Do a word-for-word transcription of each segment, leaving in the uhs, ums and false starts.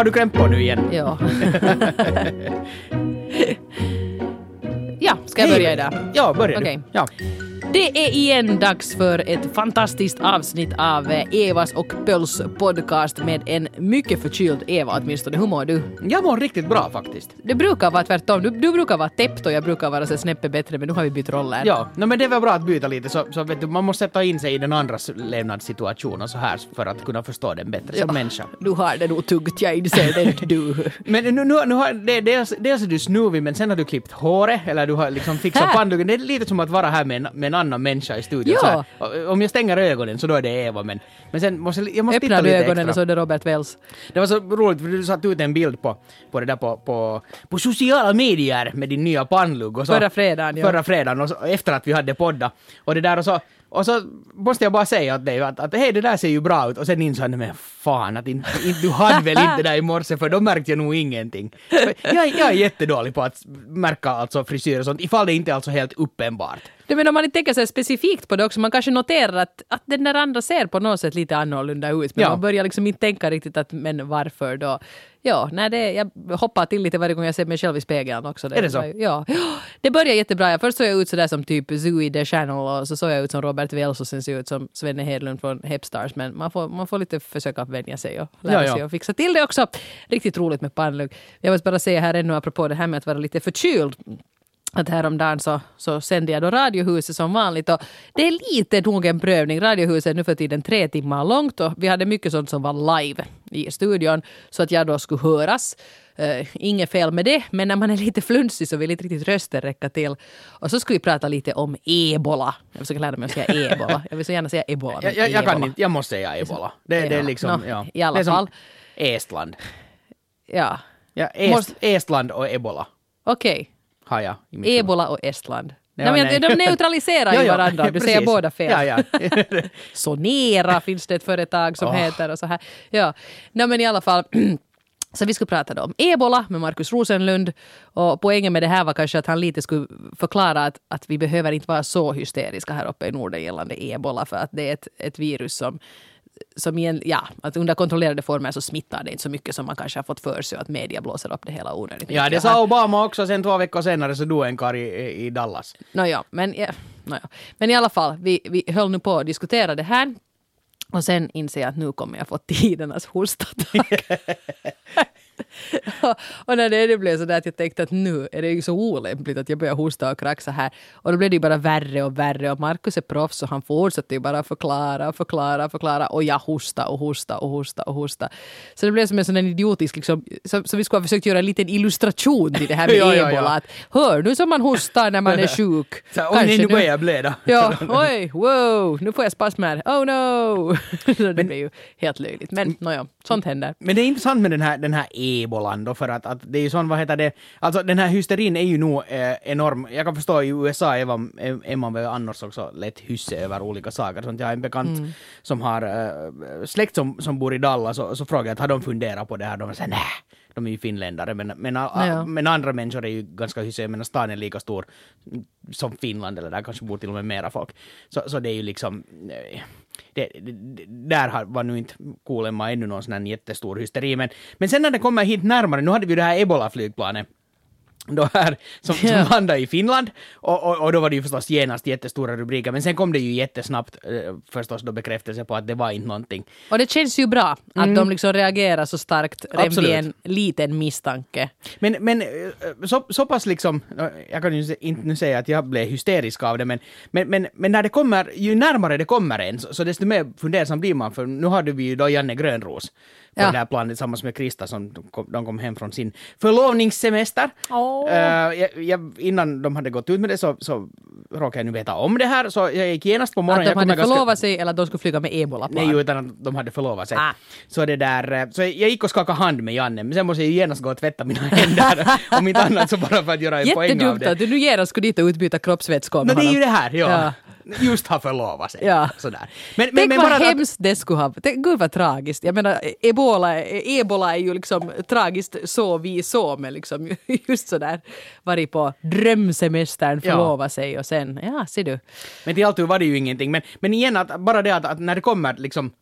har du klämt på nu igen? Ja. Ja, ska jag börja idag? Ja, börja okay. du. Ja. Det är igen dags för ett fantastiskt avsnitt av Evas och Pöls podcast med en mycket förkyld Eva åtminstone. Hur mår du? Jag mår riktigt bra faktiskt. Det brukar vara tvärtom. Du, du brukar vara täppt och jag brukar vara så snäppet bättre, men nu har vi bytt roller. Ja, no, men det var bra att byta lite så, så vet du, man måste sätta in sig i den andras levnadssituation och så här för att kunna förstå den bättre som ja, människa. Du har det nog tungt, jag inser det du. Men nu, nu, nu har det, dels, dels är du snuvig men sen har du klippt håret eller du har liksom fixat pannlugen. Det är lite som att vara här med en, med en annan människa i studion. Ja. Så här, om jag stänger ögonen så då är det Eva, men, men sen måste jag måste titta öppnar lite du ögonen extra. Och så är det Robert Wells. Det var så roligt för du satt ut en bild på, på det där på, på, på sociala medier med din nya pannlugg. Och så, förra fredagen, ja. Förra fredagen och så, efter att vi hade podda. Och det där och så, och så måste jag bara säga åt dig att, att hej, det där ser ju bra ut. Och sen insåg jag, men fan, att in, in, du hade väl inte det där i morse för då märkte jag nog ingenting. Jag, jag är jättedålig på att märka alltså frisyr och sånt ifall det inte är alltså helt uppenbart. Det men om man inte tänker sig specifikt på det också, man kanske noterar att, att den där andra ser på något sätt lite annorlunda ut, men ja. Man börjar liksom inte tänka riktigt att, men varför då? Ja, nej, det, jag hoppar till lite varje gång jag ser mig själv i spegeln också. Det, är det så? Ja, det börjar jättebra. Först såg jag ut sådär som typ Zooey the Channel och så såg jag ut som Robert Wells och sen såg jag ut som Svenne Hedlund från Hepstars, men man får, man får lite försöka vänja sig och lära ja, ja. sig och fixa till det också. Riktigt roligt med pannlugg. Jag vill bara säga här ännu apropå det här med att vara lite förkyld. Att häromdagen så, så sände jag då Radiohuset som vanligt och det är lite nog en prövning. Radiohuset är nu för tiden tre timmar långt och vi hade mycket sånt som var live i studion så att jag då skulle höras. Uh, inget fel med det, men när man är lite flunsig så vill inte riktigt rösten räcka till. Och så skulle vi prata lite om ebola. Jag försöker lära mig att säga ebola. Jag vill så gärna säga ebola. Jag, jag, jag kan inte, jag måste säga ebola. Det, ja. det är liksom, no, ja. I alla det är fall. Som Estland. Ja. Ja, Est, Måste... Estland och ebola. Okej. Okay. Har jag i mitt Ebola och Estland. Ja, nej, men de neutraliserar ju ja, ja, varandra. Du säger båda fel. Ja, ja. Sonera finns det ett företag som oh. heter och så här. Ja, nej, men i alla fall. Så vi skulle prata då om ebola med Markus Rosenlund. Och poängen med det här var kanske att han lite skulle förklara att, att vi behöver inte vara så hysteriska här uppe i Norden gällande ebola. För att det är ett, ett virus som som igen, ja, att under kontrollerade former så smittar det inte så mycket som man kanske har fått för sig att media blåser upp det hela onödigt. Ja, det sa Obama också, sen två veckor senare så dog en karl i, i Dallas. No, ja, men, ja, no, ja. men i alla fall, vi, vi höll nu på att diskutera det här och sen inser jag att nu kommer jag få tidernas hostattack. och, och när det, det blev så där att jag tänkte att nu är det ju så olämpligt att jag börjar hosta och kraxa här. Och då blev det ju bara värre och värre och Markus är proffs och han fortsatte ju bara förklara, förklara, förklara och jag hosta och hosta och hosta och hosta. Så det blev som en sån idiotisk liksom, så, så vi skulle ha försökt göra en liten illustration till det här med ja, ebola. Ja, ja. Att, hör, nu som man hostar när man är sjuk. Så, oj, nu börjar jag blöda. Ja, oj, wow, nu får jag spasmer. Oh no! Det blir ju helt löjligt. Men nåja, sånt händer. Men det är intressant med den här, den här ebolan då, för att, att det är ju sån, vad heter det, alltså den här hysterin är ju nog eh, enorm. Jag kan förstå i U S A är man, är man väl annars också lätt hysse över olika saker. Sånt. Jag har en bekant mm. som har eh, släkt som, som bor i Dallas och så frågar jag att har de funderat på det här? De säger nej, de är ju finländare, men, men, ja. men andra människor är ju ganska hysse, men stan är lika stor som Finland eller där kanske bor till och med mera folk. Så, så det är ju liksom det, det, det, där var nu inte Kuulemma ännu någon sån här jättestor hysteri, men, men sen när det kommer hit närmare, nu hade vi det här Ebola-flygplanet då här, som, som yeah. landade i Finland och, och, och då var det ju förstås genast jättestora rubriker, men sen kom det ju jättesnabbt eh, förstås då bekräftelse på att det var inte någonting. Och det känns ju bra att mm. de liksom reagerar så starkt redan vid en liten misstanke. Men, men så, så pass liksom, jag kan ju inte nu säga att jag blev hysterisk av det, men, men, men, men när det kommer, ju närmare det kommer en så, så desto mer fundersam blir man, för nu hade vi ju då Janne Grönros på ja. det här planet tillsammans med Krista som kom, de kom hem från sin förlovningssemester. Oh. Uh, jag, jag, innan de hade gått ut med det så, så råkade jag nu veta om det här, så jag gick genast på morgonen. Att de jag hade förlovat ganska... sig eller att de skulle flyga med ebola-plan? Nej, utan att de hade förlovat sig. Ah. Så, det där, så jag gick och skakade hand med Janne, men sen måste jag ju genast gå och tvätta mina händer. Om inte annat så bara för att göra en poäng av det. Jättedumt att du nu genast skulle dit och utbyta kroppsvätskor med no, honom. det är ju det här, ja. ja. Just har förlovat sig. Ja. Sådär. Men, Tänk men, vad bara hemskt att... det skulle ha. Tänk, gud vad tragiskt. Jag menar, ebola, ebola är ju liksom tragiskt så vi så med liksom just sådär varit på drömsemestern, förlova ja. sig och sen, ja, ser du. Men till allt var det ju ingenting. Men, men igen, att, bara det att, att när det kommer liksom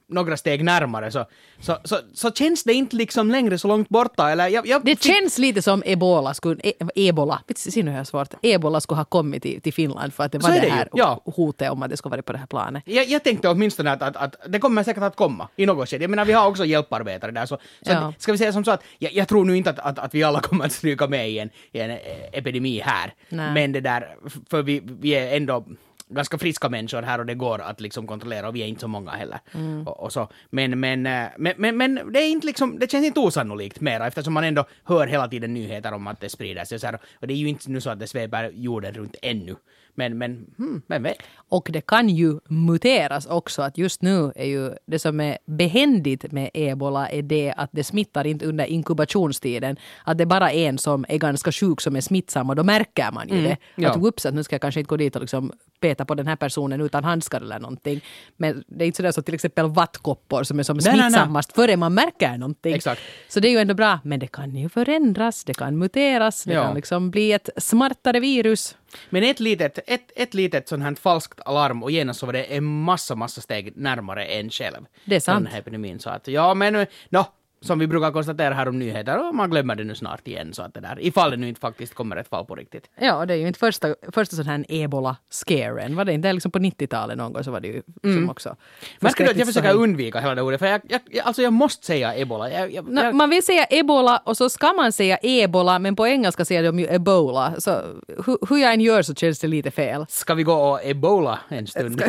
några steg närmare så, så, så, så känns det inte liksom längre så långt borta. Eller jag, jag det fick... känns lite som Ebola skulle, e, Ebola, ser nu hur svårt, Ebola skulle ha kommit till, till Finland för att det var det, det här ja. hotet om att det skulle vara på det här planet. Jag, jag tänkte åtminstone att, att, att det kommer säkert att komma i något skede. Jag menar, vi har också hjälparbetare där, så, så ja. ska vi säga som så att jag, jag tror nu inte att, att, att vi alla kommer att stryka med i en, i en epidemi här. Nej. Men det där, för vi, vi är ändå ganska friska människor här och det går att liksom kontrollera och vi är inte så många heller. Mm. Och, och så. Men, men, men, men, men det, är inte liksom, det känns inte osannolikt mera eftersom man ändå hör hela tiden nyheter om att det sprider sig. Så här, och det är ju inte nu så att det sveper jorden runt ännu. Men, men hmm, vem vet? Och det kan ju muteras också, att just nu är ju det som är behändigt med ebola är det att det smittar inte under inkubationstiden. Att det är bara en som är ganska sjuk som är smittsam och då märker man ju mm, det. Ja. Att whoops, att nu ska jag kanske inte gå dit och liksom peta på den här personen utan handskar eller någonting. Men det är inte sådär så till exempel vattkoppor som är som nej, smittsammast nej, nej. före man märker någonting. Exakt. Så det är ju ändå bra, men det kan ju förändras, det kan muteras, det ja. kan liksom bli ett smartare virus. Men ett litet, ett, ett litet sånt här falskt alarm och genast så var det en massa, massa steg närmare en själv. Det är sant. Den här epidemin. Så att, ja men, no, som vi brukar konstatera här om nyheter, och man glömmer det nu snart igen så att det där, ifall det nu inte faktiskt kommer ett fall på riktigt. Ja, det är ju inte första, första sån här ebola-scaren. Var det inte liksom på nittiotalet någon gång så var det ju mm. som också. Märker du att jag försöker undvika hela det ordet, för jag, jag, alltså jag måste säga ebola. Jag, jag, no, jag... Man vill säga ebola och så ska man säga ebola, men på engelska säger de ju ebola. Så hur, hur jag än gör så känns det lite fel. Ska vi gå och ebola en stund?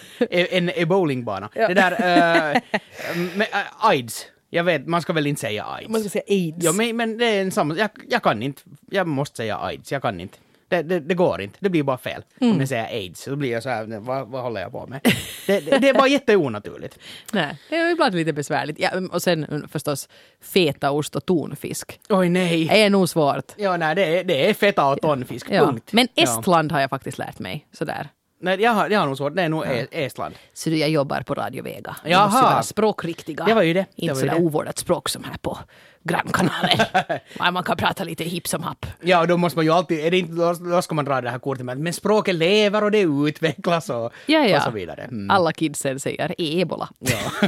en ebolingbana. Ja. Det där, uh, med, uh, AIDS. Jag vet, man ska väl inte säga AIDS. Man ska säga AIDS. Ja, men, men det är en samma... Jag, jag kan inte. Jag måste säga AIDS. Jag kan inte. Det, det, det går inte. Det blir bara fel. Mm. Om jag säger AIDS. Då blir jag så här, vad, vad håller jag på med? det, det, det är bara jätteonaturligt. Nej, det är ibland lite besvärligt. Ja, och sen förstås fetaost och tonfisk. Oj nej. Det är nog svårt. Ja, nej, det är, det är feta och tonfisk. Ja. Punkt. Men Estland ja. har jag faktiskt lärt mig. Sådär. Nej, jag har, jag har nog svårt. Det är nog ja. Estland. Så jag jobbar på Radio Vega. Jaha. Jag måste vara språkriktiga. Det var ju det. Inte sådär ovårdat språk som här på grannkanalen. Man kan prata lite hipp som happ. Ja, och då måste man ju alltid, är det inte, då, då ska man dra det här kortet med men språket lever och det utvecklas och, ja, ja. och så vidare. Mm. Alla kidsen säger ebola. Ja.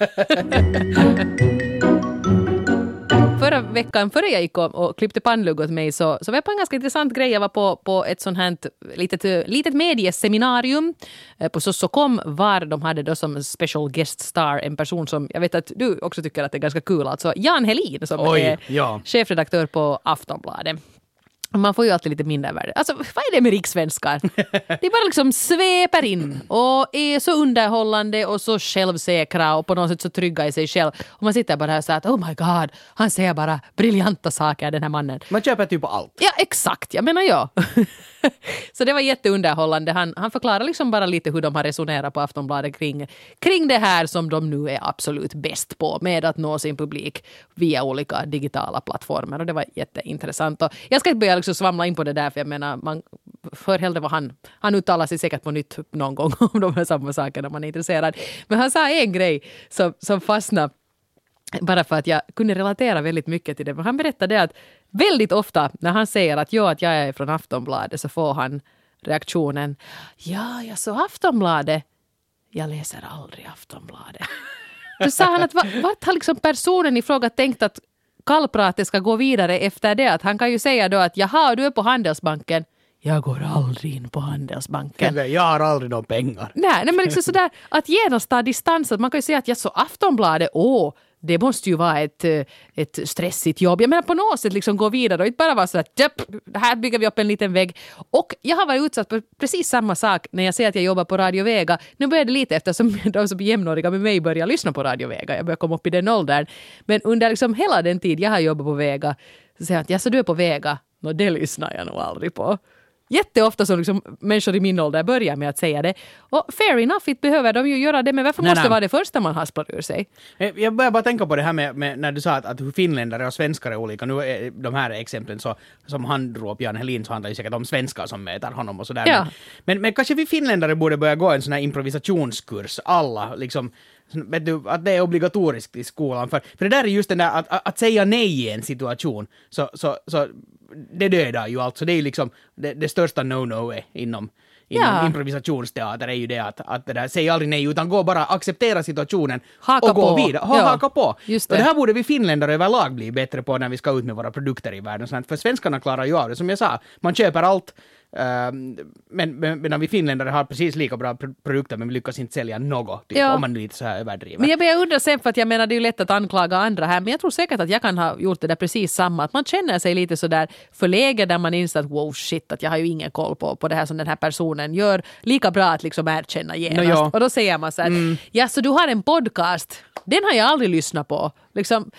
Förra veckan, före jag gick och, och klippte pannlugg åt mig så, så var jag på en ganska intressant grej. Jag var på, på ett sånt här litet, litet medieseminarium eh, på Sossokom var de hade då som special guest star en person som jag vet att du också tycker att det är ganska kul. Alltså Jan Helin som Oj, är ja. chefredaktör på Aftonbladet. Man får ju alltid lite mindre värde. Alltså, vad är det med rikssvenskar? De bara liksom sveper in och är så underhållande och så självsäkra och på något sätt så trygga i sig själv. Och man sitter bara här och säger att oh my god, han säger bara briljanta saker, den här mannen. Man köper typ på allt. Ja, exakt. Jag menar jag. Så det var jätteunderhållande. Han, han förklarar liksom bara lite hur de har resonerat på Aftonbladet kring, kring det här som de nu är absolut bäst på med att nå sin publik via olika digitala plattformar. Och det var jätteintressant. Och jag ska inte börja liksom svamla in på det där för jag menar, man för hellre vad han, han uttalar sig säkert på nytt någon gång om de här samma sakerna man är intresserad. Men han sa en grej som, som fastnade bara för att jag kunde relatera väldigt mycket till det. Han berättade att väldigt ofta när han säger att, ja, att jag är från Aftonbladet så får han reaktionen ja, jag så Aftonbladet. Jag läser aldrig Aftonbladet. Då sa han att vart har liksom personen i fråga tänkt att kallpratet ska gå vidare efter det? Att han kan ju säga då att jaha, du är på Handelsbanken. Jag går aldrig in på Handelsbanken. Jag har aldrig några pengar. Nej, nej men liksom sådär att genast ta distans. Att man kan ju säga att jag så Aftonbladet, åh, det måste ju vara ett, ett stressigt jobb. Jag menar på något sätt liksom gå vidare och inte bara vara så att här bygger vi upp en liten vägg. Och jag har varit utsatt för precis samma sak när jag säger att jag jobbar på Radio Vega. Nu börjar det lite eftersom de som är jämnåriga med mig börjar lyssna på Radio Vega. Jag börjar komma upp i den åldern. Men under liksom hela den tid jag har jobbat på Vega så säger jag att ja, så du är på Vega. Nå, det lyssnar jag nog aldrig på. Jätteofta som liksom människor i min ålder börjar med att säga det. Och fair enough, inte behöver de ju göra det. Men varför nej, måste nej. vara det första man hasplar ur sig? Jag börjar bara tänka på det här med, med när du sa att, att hur finländare och svenskar är olika. Nu är de här exemplen så, som han drog upp, Jan Helin, så handlar det säkert om svenskar som möter honom och sådär. Ja. Men, men kanske vi finländare borde börja gå en sån här improvisationskurs. Alla liksom... Vet du, att det är obligatoriskt i skolan. För, för det där är just den där att, att, att säga nej i en situation. Så, så, så det dödar ju alltså. Det är ju liksom det, det största no-no är inom, inom Ja. improvisationsteater är ju det att, att det där, säg aldrig nej utan gå bara acceptera situationen Haka och gå på. vidare. Ha, Ja. Haka på. Just Och det. det här borde vi finländare överlag bli bättre på när vi ska ut med våra produkter i världen. Så att, för svenskarna klarar ju av det. Som jag sa, man köper allt. Uh, men, men medan vi finländare har precis lika bra pr- produkter men vi lyckas inte sälja något, typ, Ja. om man är lite så här överdriver. Men jag börjar undra sen, för att jag menar det är ju lätt att anklaga andra här, men jag tror säkert att jag kan ha gjort det där precis samma, att man känner sig lite så där förlägen där man inser att wow shit, att jag har ju ingen koll på, på det här som den här personen gör, lika bra att liksom erkänna genast. No, ja. Och då säger man så här, mm. ja så du har en podcast, den har jag aldrig lyssnat på. Liksom,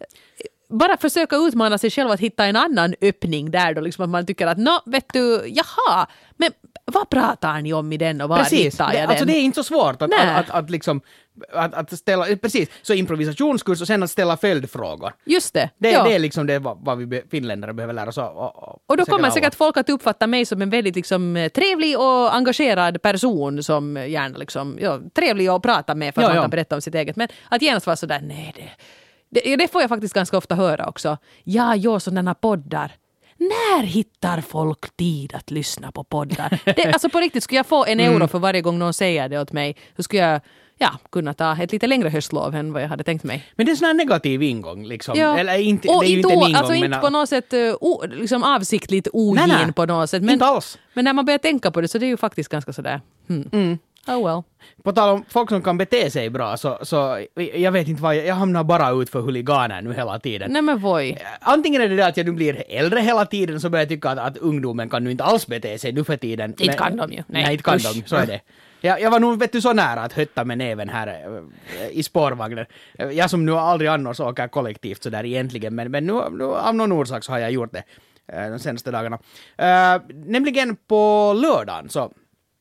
bara försöka utmana sig själv att hitta en annan öppning där då, liksom att man tycker att nå, vet du, jaha, men vad pratar ni om i den och var Precis, hittar jag det, den? alltså det är inte så svårt att, Nej. att, att, att liksom att, att ställa, precis, så improvisationskurs och sen att ställa följdfrågor. Just det. Det, ja. det är liksom det vad, vad vi be, finländare behöver lära oss. Och, och, Och då kommer alla. säkert folk att uppfatta mig som en väldigt liksom, trevlig och engagerad person som gärna liksom, ja, trevlig att prata med för att Ja, man ja. kan berätta om sitt eget. Men att genast vara sådär, nej det, det, det får jag faktiskt ganska ofta höra också. Ja, jag sådana poddar. När hittar folk tid att lyssna på poddar? Det, alltså på riktigt, skulle jag få en euro för varje gång någon säger det åt mig, så skulle jag ja, kunna ta ett lite längre höstlov än vad jag hade tänkt mig. Men det är en sån här negativ ingång liksom. Ja. Eller inte, och det är ju inte, inte en o- ingång. alltså men, inte på något sätt uh, o, liksom avsiktligt ogin Nej, nej. på något sätt. Men, inte alls. men när man börjar tänka på det så det är ju faktiskt ganska sådär. Hmm. Mm. Oh well. På tal om folk som kan bete sig bra så, så jag vet inte vad, jag, jag hamnar bara ut för huliganer nu hela tiden. Nej men voi. Antingen är det det att jag nu blir äldre hela tiden så börjar jag tycka att, att ungdomen kan nu inte alls bete sig nu för tiden. Inte Men- kan de ju. Nej, Nej, inte kan usch. de, så är det. Jag, jag var nog vet du, så nära att hötta med näven här äh, i spårvagnen. Jag som nu aldrig annars åker kollektivt så där egentligen, men, men nu, nu av någon orsak så har jag gjort det äh, de senaste dagarna. Äh, nämligen på lördagen så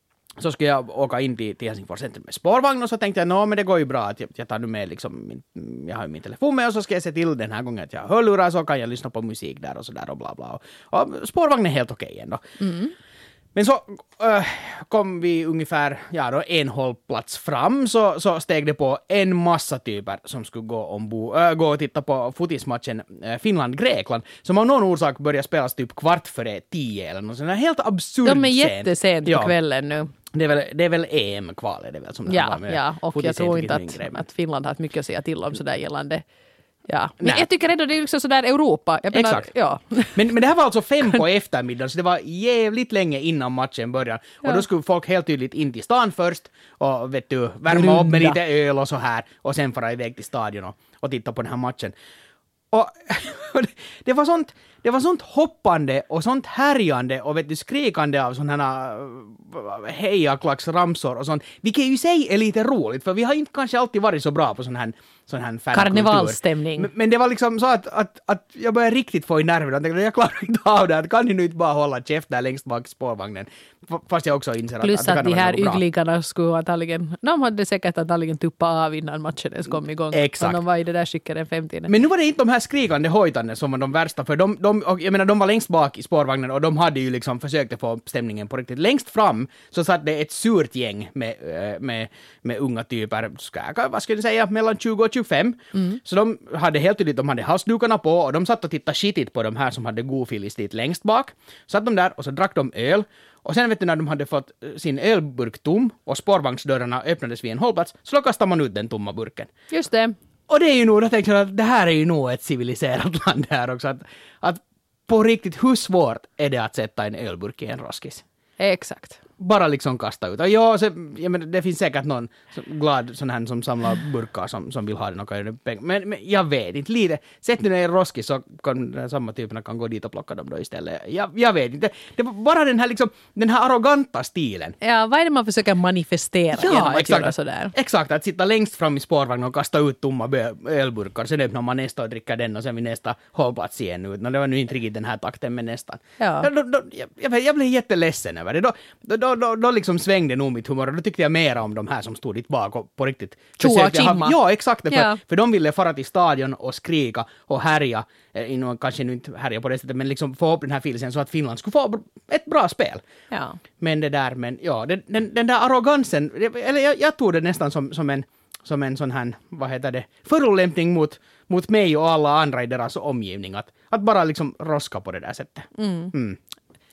så skulle jag åka in till, till Helsingfors centrum med spårvagn och så tänkte jag, nå men det går ju bra att jag, jag tar nu med liksom min, jag har ju min telefon med och så ska jag se till den här gången att jag har hörlurar så kan jag lyssna på musik där och så där och bla bla. Och, och spårvagnen är helt okej ändå. Mm. Men så äh, kom vi ungefär ja, då en hållplats fram så, så steg det på en massa typer som skulle gå, ombo, äh, gå och titta på fotismatchen äh, Finland-Grekland som av någon orsak började spelas typ kvart före tio eller något sånt där helt absurd De är sent. jättesent på Ja. kvällen nu. Det är väl, det är väl E M-kval är det väl som det Ja, var med ja, och fotis jag tror är inte min grej, att, men- att Finland har haft mycket att säga till om sådär gällande. Ja. Men Nej. jag tycker ändå det är liksom sådär Europa. Jag menar, Exakt. Ja. Men, men det här var alltså fem på eftermiddagen, så det var jävligt länge innan matchen började. Och Ja. då skulle folk helt tydligt in till stan först och vet du, värma upp med Grunda. lite öl och så här och sen fara iväg till stadion och, och titta på den här matchen. Och det var sånt, det var sånt hoppande och sånt härjande och vet du, skrikande av sådana här hejaklacksramsor och sånt, vilket ju i sig är lite roligt, för vi har inte kanske alltid varit så bra på sån här, sån här fankultur. Karnevalsstämning. Men, men det var liksom så att, att, att jag började riktigt få i nerverna. Jag tänkte, jag klarar inte av det. Att kan ni nu inte bara hålla käft där längst bak i spårvagnen? F- Fast jag också inser att, Plus att det att kan de vara här något bra. ygglingarna skulle antagligen, de hade säkert antagligen tuppat av innan matchen ens kom igång. Exakt. Och de var i det där skicket den femtionde. Men nu var det inte de här skrikande hojtande som var de värsta, för de, de, och jag menar, de var längst bak i spårvagnen och de hade ju liksom försökt få stämningen på riktigt. Längst fram så satt det ett surt gäng med, eh, med, med unga typer, ska jag, vad skulle jag säga, mellan tjugo och tjugofem. Mm. Så de hade helt tydligt, de hade halsdukarna på och de satt och tittade skitigt på de här som hade godfilis dit längst bak. Satt de där och så drack de öl. Och sen vet du när de hade fått eh, sin ölburk tom och spårvagnsdörrarna öppnades vid en hållplats, så då kastade man ut den tomma burken. Just det. Och det är ju nog, då tänkte jag att det här är ju nog ett civiliserat land här också. Att, att på riktigt, hur svårt är det att sätta en ölburk i en roskis? Exakt. Bara liksom kasta ut. Och ja, så, jag menar, det finns säkert någon som, glad sån här som samlar burkar som, som vill ha den och kan göra pengar. Men, men jag vet inte, lite. Sätt nu den i en roskis så kan den samma typerna kan gå dit och plocka dem då istället. Jag, jag vet inte. Det var bara den här liksom, den här arroganta stilen. Ja, vad är det man försöker manifestera genom att göra sådär? Exakt, att sitta längst fram i spårvagnen och kasta ut tomma bö- ölburkar, sen öppnar man nästa och dricker den och sen vid nästa hållplats igen ut. No, det var nu inte riktigt den här takten, men nästan. Ja. Ja, då, då, jag, jag, jag blev jätteledsen över det. Då, då, då, då, då liksom svängde nog mitt humör och då tyckte jag mer om de här som stod dit bak och på riktigt Tjoa försökte ha- chimma. Ja, exakt. För, Ja. för de ville fara till stadion och skrika och härja, eh, inom, kanske nu inte härja på det sättet, men liksom få upp den här filsen så att Finland skulle få ett bra spel. Ja. Men det där, men ja, den, den, den där arrogansen, eller jag, jag tog det nästan som, som, en, som en sån här, vad heter det, förolämpning mot, mot mig och alla andra i deras omgivning, att, att bara liksom roska på det där sättet. Mm. Mm.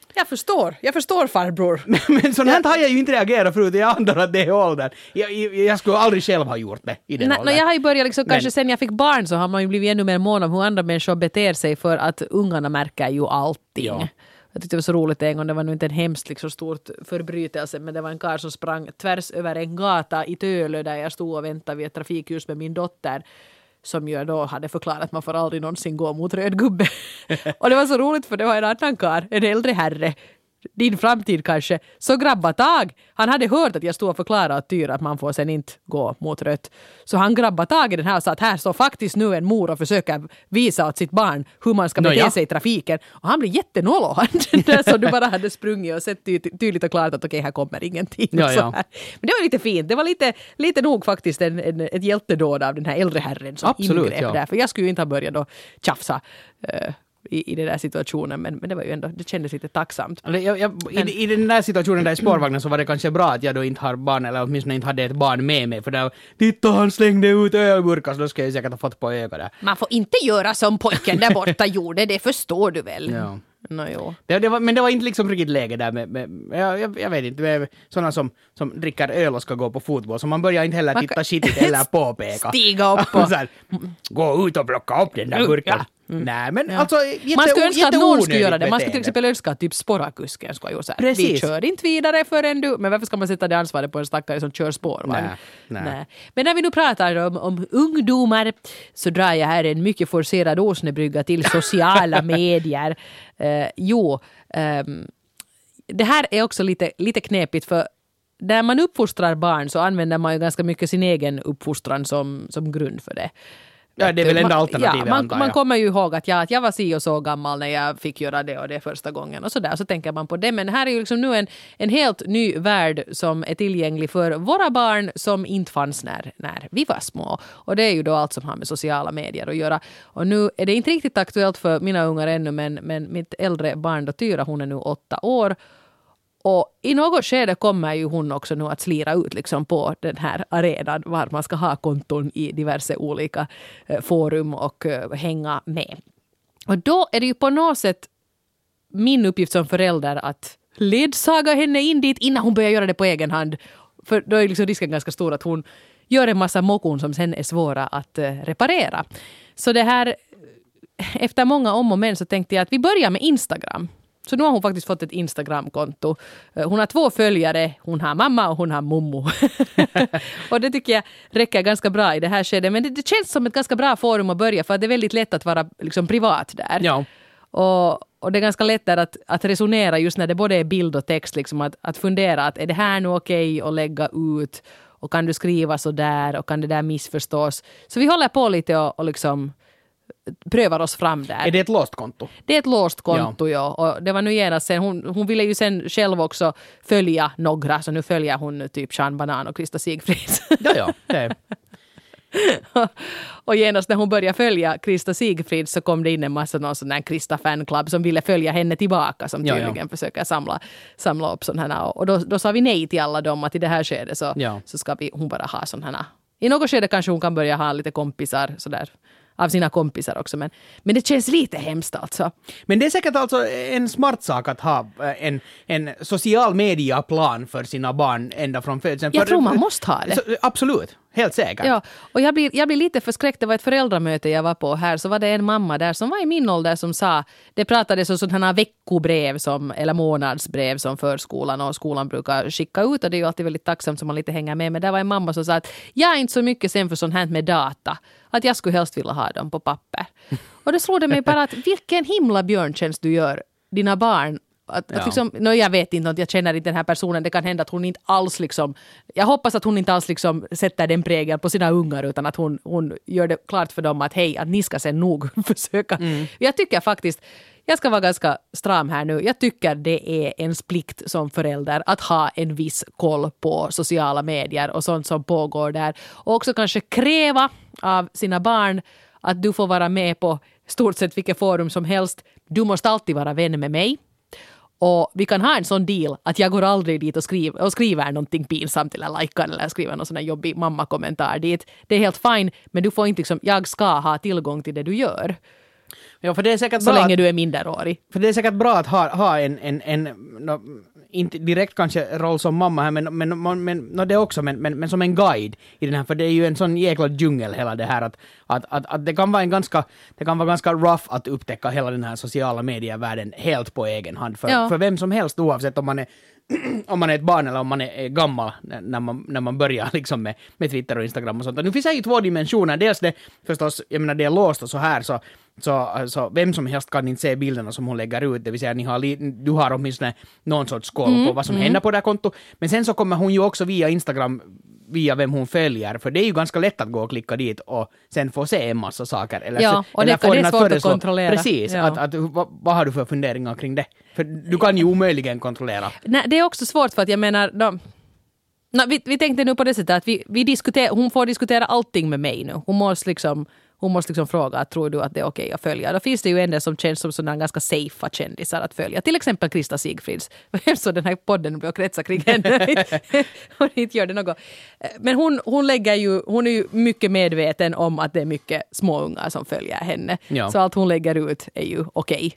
Jag förstår, jag förstår farbror. Men sånt här har jag ju inte reagerat förut, jag antar att det är åldern. Jag, jag, jag skulle aldrig själv ha gjort det i den Nej, åldern. Jag har ju börjat liksom, Men, kanske sen jag fick barn så har man ju blivit ännu mer mån om hur andra människor beter sig för att ungarna märker ju allting. Ja. Jag tyckte det var så roligt en gång, det var nu inte en hemskt liksom, stort förbrytelse, men det var en karl som sprang tvärs över en gata i Tölö där jag stod och väntade vid ett trafikljus med min dotter, som ju då hade förklarat att man får aldrig någonsin gå mot röd gubbe. Och det var så roligt för det var en annan karl, en äldre herre, din framtid kanske, så grabba tag. Han hade hört att jag stod och förklarade att Tyra att man får sen inte gå mot rött. Så han grabba tag i den här och sa att här står faktiskt nu en mor och försöker visa åt sitt barn hur man ska bete no, ja. sig i trafiken. Och han blev jättenollo. Så du bara hade sprungit och sett ty- tydligt och klart att okej, okay, här kommer ingenting. Ja, ja. Men det var lite fint. Det var lite, lite nog faktiskt en, en, ett hjältedåd av den här äldre herren som Absolut, ingrep ja. där. För jag skulle ju inte ha börjat då tjafsa uh, I, i den där situationen, men, men det var ju ändå, det kändes lite tacksamt. Jag, jag, men, i, I den där situationen där i spårvagnen så var det kanske bra att jag då inte har barn, eller åtminstone inte hade ett barn med mig, för där, titta han slängde ut ölburkar, så då ska jag säkert ha fått på ögat där. Man får inte göra som pojken där borta gjorde, det förstår du väl? Ja. No, jo. Det, det var, men det var inte liksom riktigt läge där med, med jag, jag, jag vet inte, med sådana som, som dricker öl och ska gå på fotboll, så man börjar inte heller titta skitigt eller påpeka. Stiga upp och... så här, gå ut och plocka upp den där burken. Ja. Mm. Nej, men ja. alltså jätte, man skulle önska att någon skulle göra det. Man skulle beteende. till exempel önska att typ spårakusken skulle göra så här. Precis. Vi kör inte vidare förrän du... Men varför ska man sätta det ansvaret på en stackare som kör spårvagn? Nej, nej. nej. Men när vi nu pratar om, om ungdomar så drar jag här en mycket forcerad åsnebrygga till sociala medier. Uh, jo, um, det här är också lite, lite knepigt för när man uppfostrar barn så använder man ju ganska mycket sin egen uppfostran som, som grund för det. Ja, det är väl enda alternativet, ja, man, antar jag. man kommer ju ihåg att, ja, att jag var si och så gammal när jag fick göra det och det första gången och så där, så tänker man på det. Men här är ju liksom nu en, en helt ny värld som är tillgänglig för våra barn som inte fanns när, när vi var små. Och det är ju då allt som har med sociala medier att göra. Och nu är det inte riktigt aktuellt för mina ungar ännu, men, men mitt äldre barn då Tyra, hon är nu åtta år. Och i något skede kommer ju hon också nu att slira ut liksom på den här arenan var man ska ha konton i diverse olika eh, forum och eh, hänga med. Och då är det ju på något sätt min uppgift som förälder att ledsaga henne in dit innan hon börjar göra det på egen hand. För då är liksom risken ganska stor att hon gör en massa mokon som sen är svåra att eh, reparera. Så det här, efter många om och men så tänkte jag att vi börjar med Instagram. Så nu har hon faktiskt fått ett Instagram-konto. Hon har två följare, hon har mamma och hon har mommo. Och det tycker jag räcker ganska bra i det här skedet. Men det, det känns som ett ganska bra forum att börja för att det är väldigt lätt att vara liksom privat där. Ja. Och, och det är ganska lätt att, att resonera just när det både är bild och text. Liksom att, att fundera att är det här nu okej att lägga ut? Och kan du skriva så där? Och kan det där missförstås? Så vi håller på lite och, och liksom... prövar oss fram där. Är det ett låst konto? Det är ett låst konto, ja. ja. Och det var nu genast sen, hon, hon ville ju sen själv också följa några, så nu följer hon typ Sean Banan och Krista Sigfrids. Ja, ja. Det. Och genast när hon började följa Krista Sigfrids så kom det in en massa någon sån här Krista fanclub som ville följa henne tillbaka, som tydligen ja, ja. försöker samla, samla upp sådana här. Och då, då sa vi nej till alla dem att i det här skedet så, ja. så ska vi, hon bara ha sådana här. I något skede kanske hon kan börja ha lite kompisar sådär. Av sina kompisar också, men, men det känns lite hemskt alltså. Men det är säkert alltså en smart sak att ha en, en social media-plan för sina barn ända från födseln. Jag tror man måste ha det. Så, absolut, helt säkert. Ja, och jag blir, jag blir lite förskräckt. Det var ett föräldramöte jag var på här, så var det en mamma där som var i min ålder som sa, det pratades om sådana här veckobrev som, eller månadsbrev som förskolan och skolan brukar skicka ut, och det är ju alltid väldigt tacksamt som man lite hänger med. Men där var en mamma som sa att jag är inte så mycket sen för sånt här med data, att jag skulle helst vilja ha dem på papper. Och det slog det mig bara att vilken himla björntjänst du gör dina barn. Att, ja. att liksom, no, jag vet inte, jag känner inte den här personen. Det kan hända att hon inte alls liksom, jag hoppas att hon inte alls liksom sätter den prägeln på sina ungar, utan att hon, hon gör det klart för dem att hej, att ni ska sen nog försöka. Mm. Jag tycker faktiskt, jag ska vara ganska stram här nu, jag tycker det är en plikt som förälder att ha en viss koll på sociala medier och sånt som pågår där. Och också kanske kräva av sina barn att du får vara med på stort sett vilket forum som helst. Du måste alltid vara vän med mig. Och vi kan ha en sån deal att jag går aldrig dit och skriver, och skriver någonting pinsamt eller likar eller skriver någon sån här jobbig mamma-kommentar dit. Det är helt fine, men du får inte liksom, jag ska ha tillgång till det du gör. Ja, för det är säkert så bra länge att, du är minderårig. För det är säkert bra att ha, ha en, en, en no, inte direkt kanske roll som mamma här, men, men, men no, det också, men, men, men som en guide i den här, för det är ju en sån jäkla djungel hela det här, att, att, att, att det kan vara en ganska, det kan vara ganska rough att upptäcka hela den här sociala medievärlden helt på egen hand, för, Ja. för vem som helst, oavsett om man är om man är ett barn eller om man är gammal när man, när man börjar liksom med, med Twitter och Instagram och sånt. Och nu finns det ju två dimensioner. Dels det förstås, jag menar det är låst och så här, så, så, så vem som helst kan inte se bilderna som hon lägger ut. Det vill säga ni har li, du har åtminstone någon sorts koll mm, på vad som mm. händer på det här kontot. Men sen så kommer hon ju också via Instagram via vem hon följer, för det är ju ganska lätt att gå och klicka dit och sen få se en massa saker. Eller, ja, och eller det, det är svårt att kontrollera. Precis, ja. att, att, vad, vad har du för funderingar kring det? För du kan ju omöjligen kontrollera. Nej, det är också svårt för att jag menar, de, no, vi, vi tänkte nu på det sättet att vi, vi diskuter, hon får diskutera allting med mig nu. Hon måste liksom Hon måste liksom fråga, tror du att det är okej att följa? Då finns det ju en del som känns som sådana ganska safea kändisar att följa. Till exempel Krista Sigfrids. Så den här podden blir kretsar kring henne. Hon inte gör det något. Men hon, hon, lägger ju, hon är ju mycket medveten om att det är mycket småungar som följer henne. Ja. Så allt hon lägger ut är ju okej.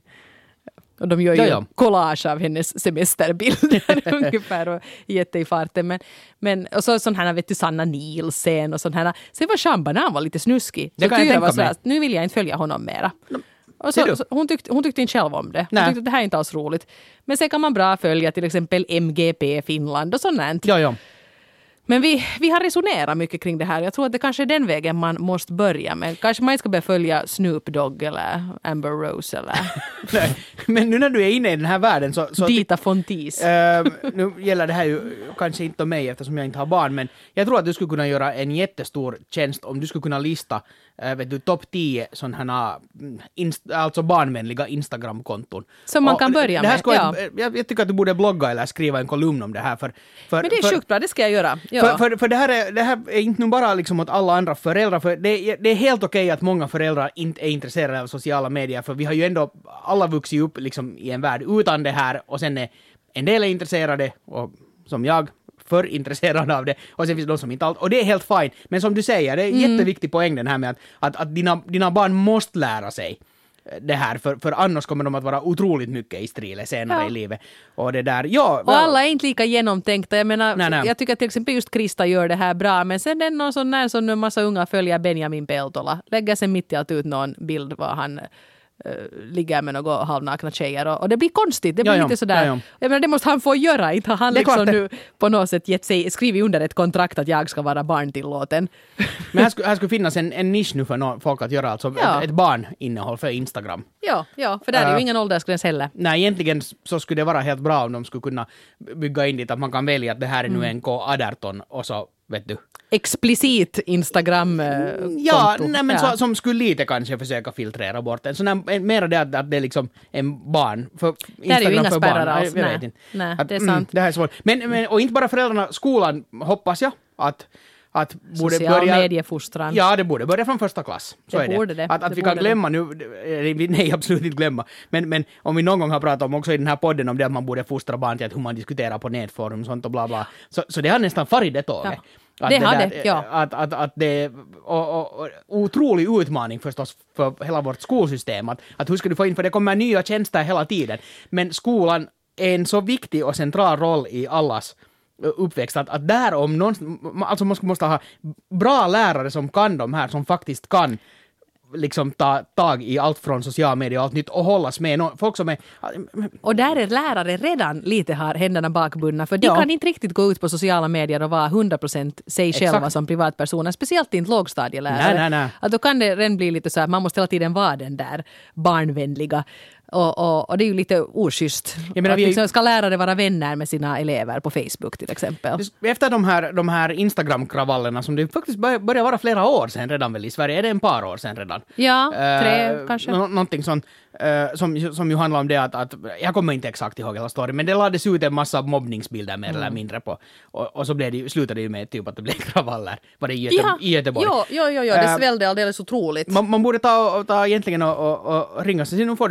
Och de gör ju ja, ja. collage av hennes semesterbilder ungefär och jätte i farten. Men, men, och så sån här, vet du, Sanna Nielsen och sån här. Sen var Sean Banan var lite snuskig. Det så kan jag tänka så här, nu vill jag inte följa honom mera. Och så, så, hon, tyckte, hon tyckte inte själv om det. Hon tyckte att det här är inte alls roligt. Men sen kan man bra följa till exempel M G P Finland och sånt. Ja, ja. Men vi, vi har resonerat mycket kring det här. Jag tror att det kanske är den vägen man måste börja med. Kanske man inte ska börja följa Snoop Dogg eller Amber Rose eller... Nej, men nu när du är inne i den här världen så... så Dita Fontis. Äh, nu gäller det här ju kanske inte om mig eftersom jag inte har barn, men jag tror att du skulle kunna göra en jättestor tjänst om du skulle kunna lista äh, vet du, topp tio sådana inst- alltså barnvänliga Instagram-konton. Som man och kan börja det här med, ja. jag, jag, jag tycker att du borde blogga eller skriva en kolumn om det här. För, för, men det är för, sjukt bra, det ska jag göra. Ja. För, för, för det, här är, det här är inte nu bara liksom åt alla andra föräldrar, för det, det är helt okej att många föräldrar inte är intresserade av sociala medier, för vi har ju ändå alla vuxit upp liksom i en värld utan det här, och sen är en del är intresserade, och som jag, för intresserade av det, och sen finns det de som inte allt, och det är helt fine. Men som du säger, det är en mm. jätteviktig poäng den här med att, att, att dina, dina barn måste lära sig det här, för, för annars kommer de att vara otroligt mycket i strile senare ja. i livet. Och det där, ja... Och alla är inte lika genomtänkta. Jag menar, nej, nej. jag tycker att till exempel just Krista gör det här bra, men sen är det någon sån där som en massa unga följer Benjamin Peltola. Lägger sen mitt i allt ut någon bild var han uh, ligger med några halvnakna tjejer, och, och det blir konstigt. Det blir ja, lite sådär. Ja, ja. Jag menar, det måste han få göra. Inte har han liksom nu på något sätt gett sig, skrivit under ett kontrakt att jag ska vara barntillåten. Men här skulle, här skulle finnas en, en nisch nu för no, folk att göra, alltså ja. ett, ett barninnehåll för Instagram. Ja, ja, för där är ju uh, ingen åldersgräns heller. Nej, egentligen så skulle det vara helt bra om de skulle kunna bygga in dit att man kan välja att det här är nu mm. en K arton och så, vet du. Explicit Instagram-konto. Ja, nej, men ja. Så, som skulle lite kanske försöka filtrera bort en. Så när, mer det att, att det är liksom en barn. För det är ju inga spärrar alls. Jag, jag nej, nej att, det är sant. Mm, det här är svårt. Men, men, och inte bara föräldrarna, skolan hoppas jag att Att borde social börja, mediefostran. Ja, det borde börja från första klass. Så det är borde det. det. Att, att det vi kan glömma det. nu, nej absolut inte glömma, men, men om vi någon gång har pratat om också i den här podden om det att man borde fostra barn till att hur man diskuterar på nätforum och sånt och bla bla. Så, så det har nästan farit det tåget. Ja. Det, det har det, ja. Att, att, att det och, och, och otrolig utmaning förstås för hela vårt skolsystem. Att, att hur ska du få in, för det kommer nya tjänster hela tiden. Men skolan är en så viktig och central roll i allas uppväxt, att, att där om någon, alltså man måste ha bra lärare som kan de här, som faktiskt kan liksom ta tag i allt från sociala medier och allt nytt och hållas med no, folk som är... Och där är lärare redan lite har händerna bakbundna, för de ja. kan inte riktigt gå ut på sociala medier och vara hundra procent sig Exakt. själva som privatpersoner, speciellt inte lågstadielärare. Nej, nej, nej. Att då kan det redan bli lite så att man måste hela tiden vara den där barnvänliga. Och, och, och det är ju lite oschysst. Jag menar, att vi liksom ska lärare vara vänner med sina elever på Facebook till exempel. Efter de här, de här Instagram-kravallerna som det faktiskt bör, börjar vara flera år sedan redan väl i Sverige, är det en par år sedan redan? Ja, tre uh, kanske. Nå- någonting sånt uh, som, som ju handlar om det att, att, jag kommer inte exakt ihåg hela storyn, men det lades ut en massa mobbningsbilder mer mm. eller mindre på, och, och så blev det, slutade det ju med typ att det blev kravaller. Var det i, Göte, ja. i Göteborg? Jo, jo, jo, jo. det svällde alldeles otroligt. Man, man borde ta, ta egentligen och, och, och ringa sig, nu får du mer och såna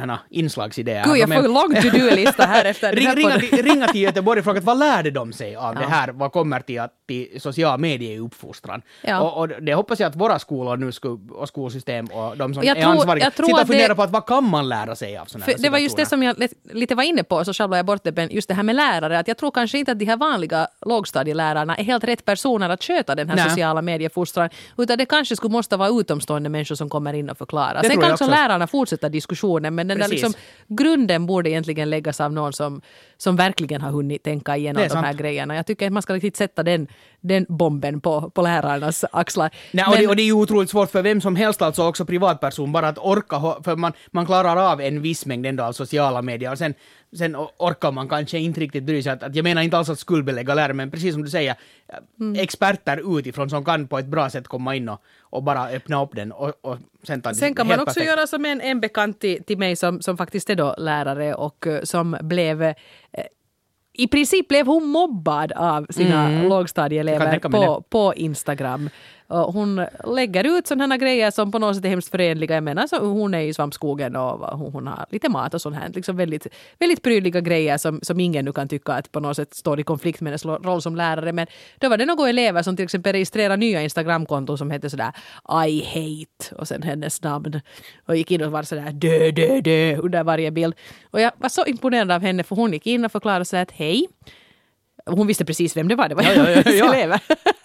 här inslagsidéer. Gud, jag får en lång to-do-lista här efter Ring, här ringa, till, ringa till Göteborg och fråga vad lärde de sig av Ja. det här? Vad kommer till, att, till social medieuppfostran? Ja. Och, och det hoppas jag att våra skolor nu sku, och skolsystem och de som Och jag är tror- ansvariga jag tror sitter och att funderar det- på att vad kan man lära sig av sådana För här det var just det situationer? som jag lite- lite var inne på, så sjabblade jag bort det, men just det här med lärare, att jag tror kanske inte att de här vanliga lågstadielärarna är helt rätt personer att sköta den här Nej. sociala mediefostran, utan det kanske skulle måste vara utomstående människor som kommer in och förklarar. Det Sen tror kan jag också också. lärarna fortsätta diskussionen, men den där Precis. liksom, grunden borde egentligen läggas av någon som, som verkligen har hunnit tänka igenom Det är de här sant. grejerna. Jag tycker att man ska riktigt sätta den, den bomben på, på lärarnas axlar. Nej, och, Men- det, och det är ju otroligt svårt för vem som helst, alltså också privatperson, bara att orka, ho- för man, man klarar av en viss mängd ändå av sociala medier och sen, sen o- orkar man kanske inte riktigt bry sig. Att, att jag menar inte alls att skuldbelägga lärare, men precis som du säger, Mm. experter utifrån som kan på ett bra sätt komma in och, och bara öppna upp den och, och sen ta det Sen kan helt man också perfekt. göra som en, en bekant till, till mig som, som faktiskt är då lärare och eh, som blev eh, i princip blev hon mobbad av sina Mm. Jag lågstadieelever kan tänka mig på, på Instagram. Och hon lägger ut sådana här grejer som på något sätt är hemskt förenliga. Jag menar, så hon är i svampskogen och hon, hon har lite mat och sånt här. Liksom väldigt, väldigt prydliga grejer som, som ingen nu kan tycka att på något sätt står i konflikt med hennes roll som lärare. Men då var det några elever som till exempel registrerar nya Instagramkonton som heter sådär I hate och sen hennes namn. Och gick in och var sådär dö, dö, dö under varje bild. Och jag var så imponerad av henne för hon gick in och förklarade så att hej. Hon visste precis vem det var. Det var Ja, ja, ja, hennes ja. elever.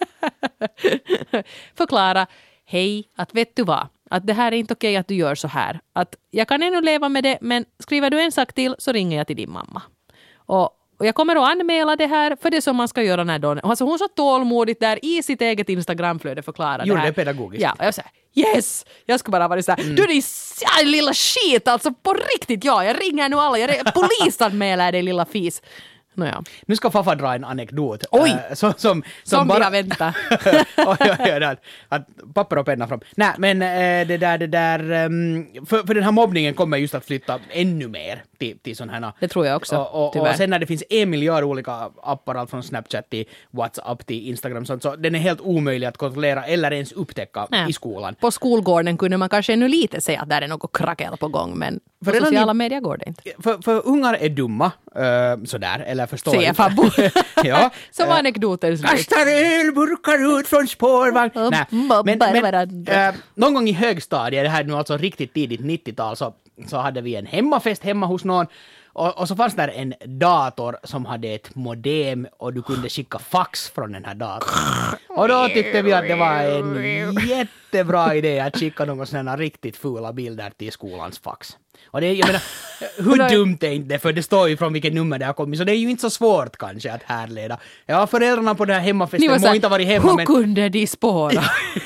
Förklara, hej, att vet du vad? Att det här är inte okej att du gör så här. Att jag kan ännu leva med det, men skriver du en sak till så ringer jag till din mamma. Och, och jag kommer att anmäla det här för det som man ska göra när då. Alltså hon så tålmodigt där i sitt eget Instagramflöde förklarar Gjorde det här. det pedagogiskt. Ja, och jag säger yes! Jag ska bara vara så här, Mm. du din ja, lilla skit, alltså på riktigt, ja, jag ringer nu alla, jag polisanmäler dig lilla fis. Nåja. Nu ska Faffa dra en anekdot. Oj! Äh, som, som, Som vi har väntat. oj, oj, oj, där. Att papper och penna fram. Nej, men äh, det där, det där... Um, för, för den här mobbningen kommer just att flytta ännu mer till, till sån här... Det tror jag också, Och, och, tyvärr. och sen när det finns en miljard olika appar, allt från Snapchat till WhatsApp till Instagram, sånt, så den är helt omöjlig att kontrollera eller ens upptäcka Nej. i skolan. På skolgården kunde man kanske ännu lite säga att där är något krackel på gång, men på För redan sociala i- medier går det inte. För, för ungar är dumma, uh, sådär, eller förstår Säger inte. Fabbo. Ja. Som var Eh, anekdoten slut. Kastar ölburkar ut från spårvagn. Och Nej, mobbar men, men varandra. äh, någon gång i högstadiet, det här är nu alltså riktigt tidigt nittiotal, så, så hade vi en hemmafest hemma hos någon. Och, och så fanns där en dator som hade ett modem och du kunde skicka fax från den här datorn. Och då tyckte vi att det var en jättebra idé att skicka någon sådana riktigt fula bilder till skolans fax. Och det, jag menar, hur dumt är inte det? För det står ju från vilket nummer det har kommit, så det är ju inte så svårt kanske att härleda. Ja, föräldrarna på den här Ni hemmafesten var må såhär, inte ha varit hemma, hur men... kunde de spåra?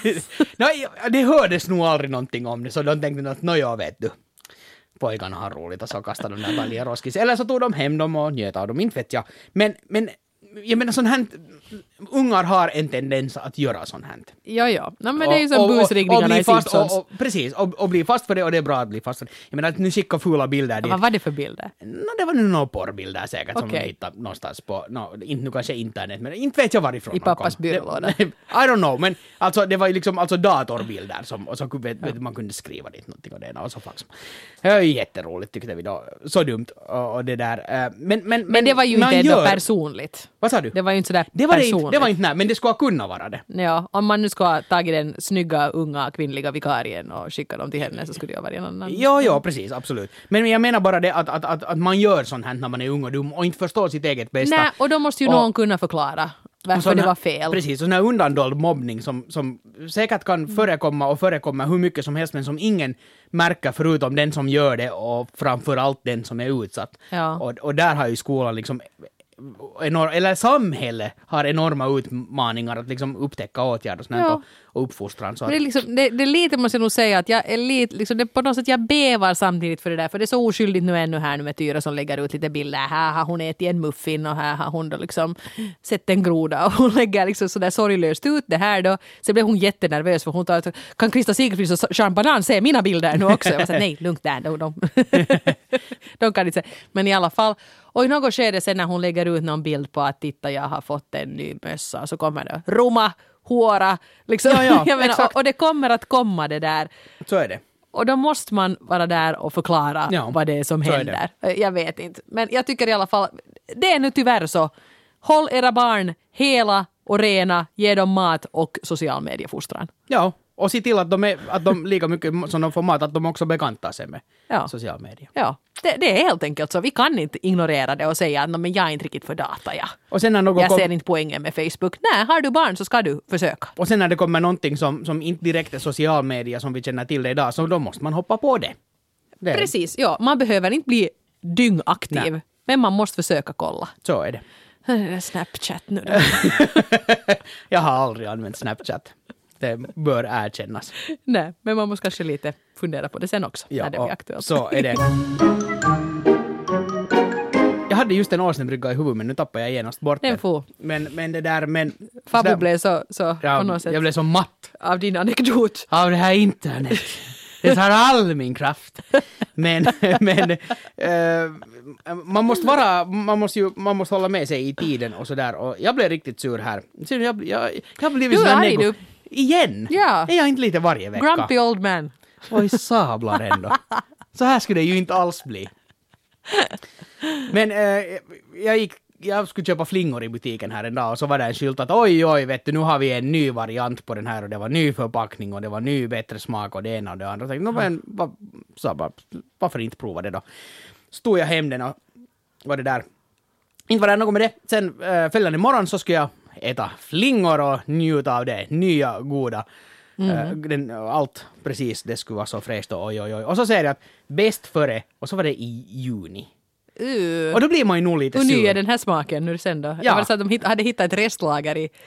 Nej, det hördes nog aldrig någonting om det, så de tänkte att nåja, vet du. Pojkarna har roligt och så kastade de där bara i roskis. Eller så tog de hem dem och njöt av dem, inte vet jag. Men, men jag menar, sån här, ungar har en tendens att göra sånt här. Ja, ja. No, men det är ju som Och- och- och busringningarna bli i fast, Simpsons. och, och, precis, och, och bli fast för det, och det är bra att bli fast för det. Jag menar, att nu skicka fula bilder dit. Vad var det för bilder? No, det var nu några porrbilder säkert som Okej. de hittade någonstans på, no, inte nu kanske internet, men inte vet jag varifrån I de kom. pappas byrålåda. Det- I don't know, men alltså det var ju liksom alltså datorbilder som, och så vet, vet, man kunde skriva dit någonting och det ena och så fax. Det var ju jätteroligt tyckte vi då. Så dumt och, och det där. eh, Men, men, Men det var ju man inte ändå gör- personligt. Vad sa du? Det var ju inte sådär Det var det personligt. inte, det var inte, nej, men det skulle kunna vara det. Ja, om man nu ska ha tagit den snygga, unga, kvinnliga vikarien och skicka dem till henne så skulle det ha varit en annan. Jo, jo, precis, absolut. Men jag menar bara det att, att, att, att man gör sånt här när man är ung och dum och inte förstår sitt eget bästa. Nej, och då måste ju Och- någon kunna förklara varför sån det här- var fel. Precis, sån här undandold mobbning som, som säkert kan förekomma och förekomma hur mycket som helst men som ingen märker förutom den som gör det och framförallt den som är utsatt. Ja. Och, och där har ju skolan liksom enorm, eller samhället har enorma utmaningar att liksom upptäcka åtgärder och, sånt här Ja. och, och uppfostran. Så Men det, att, är liksom, det, det är lite, måste jag nog säga, att jag är lite, liksom, det, på något sätt jag bävar samtidigt för det där, för det är så oskyldigt nu ännu här nu med Tyra som lägger ut lite bilder. Här har hon ätit en muffin och här har hon då liksom sett en groda och hon lägger liksom sådär sorglöst ut det här då. Så blev hon jättenervös för hon tar, kan Krista Sigfrid och Jean Banan se mina bilder nu också? Jag var så här, nej, lugnt där, de, de, de kan inte se. Men i alla fall, och i något skede sen när hon lägger ut någon bild på att titta, jag har fått en ny mössa, så kommer det Roma, håra, liksom. Ja, ja, Jag menar, exakt. och, och det kommer att komma det där. så är det. Och då måste man vara där och förklara ja, vad det är som händer. Är jag vet inte. Men jag tycker i alla fall, det är nu tyvärr så. Håll era barn hela och rena, ge dem mat och social mediefostran. Ja, och se till att de, är, att de lika mycket som de får mat, att de också bekantar sig med ja. social media. Ja, det, det är helt enkelt så. Vi kan inte ignorera det och säga att men jag är inte riktigt för data. Ja. Och sen när någon jag kom... ser inte poängen med Facebook. Nej, har du barn så ska du försöka. Och sen när det kommer någonting som, som inte direkt är social media som vi känner till det idag, så då måste man hoppa på det. det är... Precis, ja. Man behöver inte bli dyngaktiv. Nej. Men man måste försöka kolla. Så är det. Snapchat nu då. Jag har aldrig använt Snapchat. Det bör erkännas. Nej, men man måste kanske lite fundera på det sen också. Ja, när det blir aktuellt. Så är det. Jag hade just en åsnebrygga i huvudet, men nu tappar jag genast bort den. Den. Får. Men, men det där, men... Fabbo där, blev så, så ja, på något sätt. Jag blev så matt. Av din anekdot. Av det här internet. Det tar all min kraft. Men, men uh, man måste vara, man måste ju, man måste hålla med sig i tiden och sådär. Och jag blev riktigt sur här. Jag, jag, jag, jag blev du sådär nego. Du. Igen? Ja. Är jag inte lite varje vecka? Grumpy old man. Oj, sablar ändå. Så här skulle det ju inte alls bli. Men uh, jag gick jag skulle köpa flingor i butiken här en dag och så var det en skylt att oj oj vet du nu har vi en ny variant på den här och det var ny förpackning och det var ny bättre smak och det ena och det andra. Så jag tänkte, var, så bara, varför inte prova det då? Stod jag hem den och var det där. Inte var det något med det. Sen äh, följande morgon så skulle jag äta flingor och njuta av det. Nya goda. Mm. Äh, den, allt precis det skulle vara så fräscht och oj oj oj. Och så säger jag att bäst före och så var det i juni. Uh. Och då blir man ju nog lite sur. Och ny sur. är den här smaken nu sen då. Ja. Det var så att de hit, hade hittat ett restlager i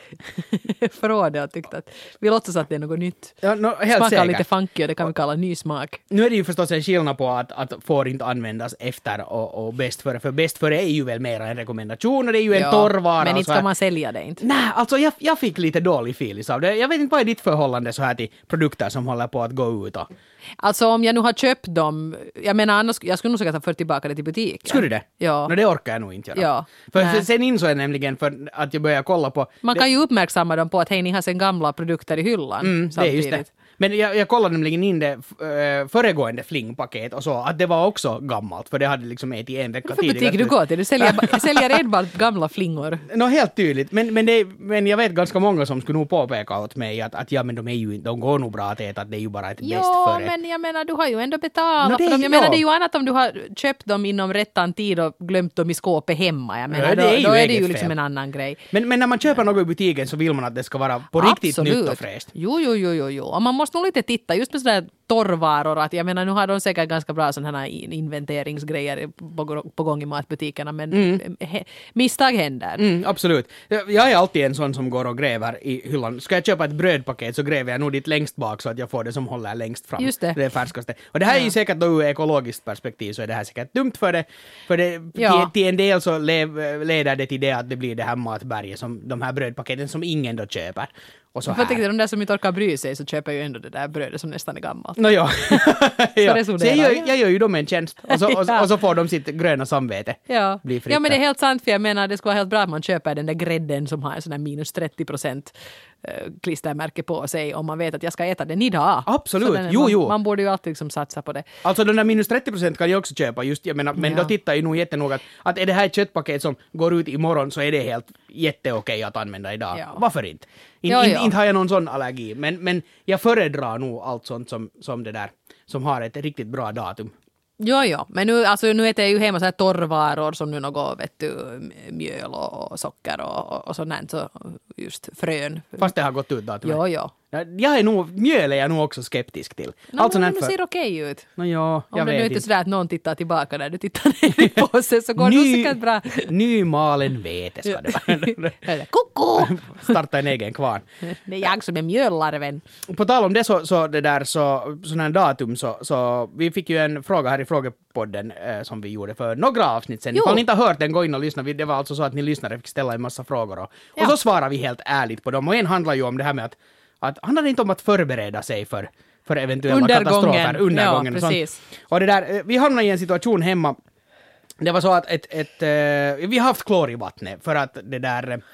förrådet och tyckte att vi låtsas att det är något nytt. Ja, no, helt smakar säkert. lite funky och det kan vi kalla ny smak. Nu är det ju förstås en skillnad på att, att får inte användas efter och, och bäst före. För bäst före är ju väl mer en rekommendation och det är ju en ja, torrvara. Men inte ska man sälja det inte. Nej, alltså jag, jag fick lite dålig feeling av det. Jag vet inte vad är ditt förhållande så här till produkter som håller på att gå ut och... Alltså om jag nu har köpt dem, jag menar annars, jag skulle nog säkert ha fört tillbaka det till butiken. Skulle du det? Ja. No, det orkar jag nog inte göra. Ja. För, för sen insåg jag nämligen för att jag började kolla på... Man det, kan ju uppmärksamma dem på att hej, ni har sen gamla produkter i hyllan. Mm, det är just det. Men jag, jag kollade nämligen in det äh, föregående flingpaket och så att det var också gammalt för det hade liksom ätit en vecka tidigare. Vilken butik du går till? Du säljer, säljer enbart gamla flingor. Nå, no, helt tydligt. Men, men, det, men jag vet ganska många som skulle nog påpeka åt mig att, att ja, men de, är ju, de går nog bra att äta, att det är ju bara ett bäst före. Jo, men jag menar, du har ju ändå betalat no, för det, dem. Jag ja. menar, det är ju annat om du har köpt dem inom rättan tid och glömt dem i skåpet hemma. Jag menar, ja, då, det är ju, då är det ju fel. liksom en annan grej. Men, men när man köper något i butiken så vill man att det ska vara på Absolut. riktigt nytt och fräscht. Jo, jo, jo, jo, jo. Och man måste nog lite titta just med sådär torrvaror. Att jag menar, nu har de säkert ganska bra sådana här inventeringsgrejer på, på gång i matbutikerna, men mm. he, misstag händer. Mm, absolut. Jag är alltid en sån som går och gräver i hyllan. Ska jag köpa ett brödpaket så gräver jag nog dit längst bak så att jag får det som håller längst fram. Just det. Det är färskaste. Och det här är ju säkert då ur ekologiskt perspektiv så är det här säkert dumt för det. För det, ja. till, till en del så lev, leder det till det att det blir det här matberget som de här brödpaketen som ingen då köper. Och så här. Jag tänkte, de där som inte orkar bry sig så köper ju ändå det där brödet som nästan är gammalt. No, ja. ja. Så, så jag, gör, ja. jag gör ju dem en tjänst och så, och, ja. och så får de sitt gröna samvete. Ja. Bli ja, men det är helt sant för jag menar det skulle vara helt bra att man köper den där grädden som har en sån där minus trettio procent klistermärke på sig om man vet att jag ska äta den idag. Absolut, den, jo, man, jo. Man borde ju alltid liksom satsa på det. Alltså den där minus trettio procent kan jag också köpa just, jag menar, men ja. då tittar jag nog jättenoga att, att är det här ett köttpaket som går ut imorgon så är det helt jätteokej att använda idag. Ja. Varför inte? In, jo, in, jo. Inte har jag någon sån allergi, men, men jag föredrar nog allt sånt som, som det där, som har ett riktigt bra datum. Jo, jo. Men nu, alltså, nu äter jag ju hemma så här torrvaror som nu något, vet du, mjöl och, och socker och, och, och sånt där, så just frön. Fast det har gått ut datumet. Jo, jo. Jag är nog, mjöl är jag nog också skeptisk till. No, alltså men det för... ser okej ut. No, ja, jag Om det vet nu inte inte sådär att någon tittar tillbaka när du tittar ner i påsen så går det Ny, säkert bra. Nymalen vete ska det vara. Koko! Starta en egen kvarn. Det är jag som är mjöllarven. På tal om det så, så det där så, sån här datum så, så vi fick ju en fråga här i frågepodden eh, som vi gjorde för några avsnitt sen. Ifall ni inte har hört den, gå in och lyssna. Det var alltså så att ni lyssnare fick ställa en massa frågor och, ja. och så svarar vi helt ärligt på dem. Och en handlar ju om det här med att, att handlar det inte om att förbereda sig för, för eventuella undergången. katastrofer. Undergången. Ja, och precis. Och det där, vi hamnade i en situation hemma. Det var så att ett, ett, ett, vi har haft klor i vattnet för att det där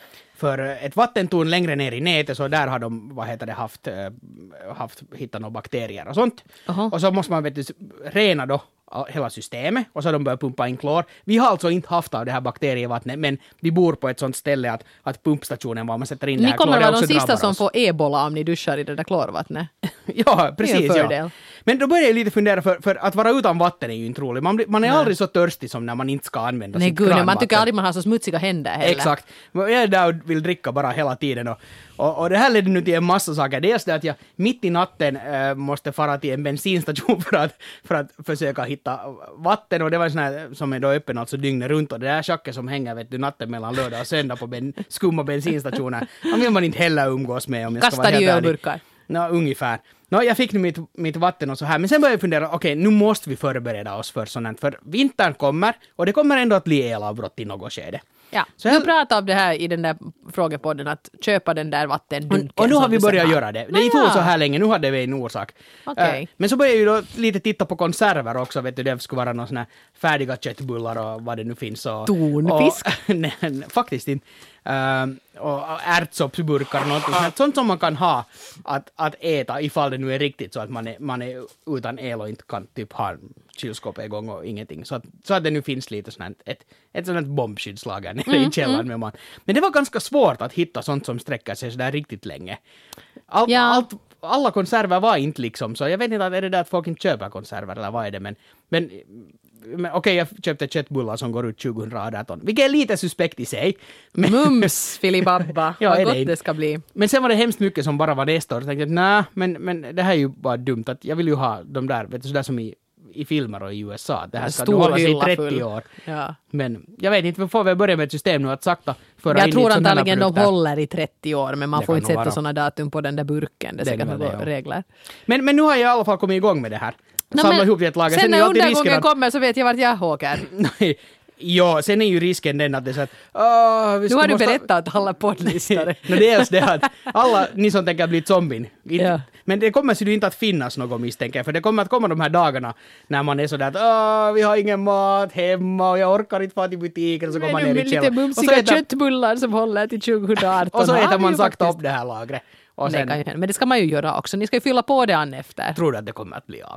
för ett vattentorn längre ner i nätet, så där har de, vad heter det, haft, haft hittat några bakterier och sånt. Uh-huh. Och så måste man vet du, rena då hela systemet och så har de börjat pumpa in klor. Vi har alltså inte haft av det här bakterievattnet, men vi bor på ett sånt ställe att, att pumpstationen var man sätter in ni det här klor. Ni kommer vara de sista oss. som får ebola om ni duschar i det där klorvattnet. Ja, precis. Ja. Men då börjar jag lite fundera, för, för att vara utan vatten är ju inte roligt. Man, man är Nej. aldrig så törstig som när man inte ska använda Nej, sitt gud, kranvatten. Man tycker aldrig man har så smutsiga händer heller. Exakt. Jag är där och vill dricka bara hela tiden. Och, och, och det här ledde nu till en massa saker. Dels det att jag mitt i natten äh, måste fara till en bensinstation för att, för att försöka hitta vatten. Och det var en sån här som är då öppen alltså dygnet runt. Och det där tjacket som hänger vet du, natten mellan lördag och söndag på ben, skumma bensinstationer. Man vill man inte heller umgås med om jag Kastar ska vara helt ärlig. Kastar i ölburkar. Ja, ungefär. No, jag fick nu mitt, mitt vatten och så här, men sen började jag fundera, okej, okay, nu måste vi förbereda oss för sånt, för vintern kommer och det kommer ändå att bli elavbrott i något skede. Ja, så du jag... pratade om det här i den där frågepodden, att köpa den där vattendunken. Och, och nu har vi börjat göra det. Det är inte ja. så här länge, nu hade vi en orsak. Okay. Uh, men så började jag ju då lite titta på konserver också, vet du, det skulle vara någon sån här färdiga köttbullar och vad det nu finns. Och, Tonfisk? Och, nej, faktiskt inte. Uh, och ärtsoppsburkar och något sånt, sånt som man kan ha att, att äta ifall det nu är riktigt så att man är, man är utan el och inte kan typ ha kylskåpet igång och ingenting. Så att, så att det nu finns lite sånt ett, ett sånt bombskyddslager nere mm, i källaren mm. med man. Men det var ganska svårt att hitta sånt som sträcker sig så där riktigt länge. All, ja. allt, alla konserver var inte liksom så. Jag vet inte, är det där att folk inte köper konserver eller vad är det, men, men Men, okej, okay, jag köpte köttbullar som går ut tjugo arton, vilket är lite suspekt i sig. Men, Mums, filibabba, ja, vad gott det, det ska bli. Men sen var det hemskt mycket som bara var nästa år. Jag tänkte att nej, men, men det här är ju bara dumt. Att jag vill ju ha de där, vet du, sådär som i, i filmer och i U S A. Det här ska hålla sig i trettio full. År. Ja. Men jag vet inte, vi får väl börja med ett system nu att sakta föra jag in tror antagligen de håller i trettio år, men man det får inte sätta vara. Sådana datum på den där burken. Det är säkert några ja. regler. Men, men nu har jag i alla fall kommit igång med det här. No, Samla ihop ett lager. Sen, sen när undergången att... kommer så vet jag vart jag åker. Nej. Ja, sen är ju risken den att det är så att... Oh, vi nu har du måste... berättat att alla poddlyssnare. no, det är alltså det att alla ni som tänker bli zombien. Ja. Men det kommer ju inte att finnas något misstänker. För det kommer att komma de här dagarna när man är sådär att oh, vi har ingen mat hemma och jag orkar inte få till butiken. Och så kommer man ner i källaren. Lite mumsiga äter... köttbullar som håller till tjugo arton. Och så äter man sakta upp det här lagret. Och sen... det kan, men det ska man ju göra också. Ni ska ju fylla på det an efter. Tror du att det kommer att bli av?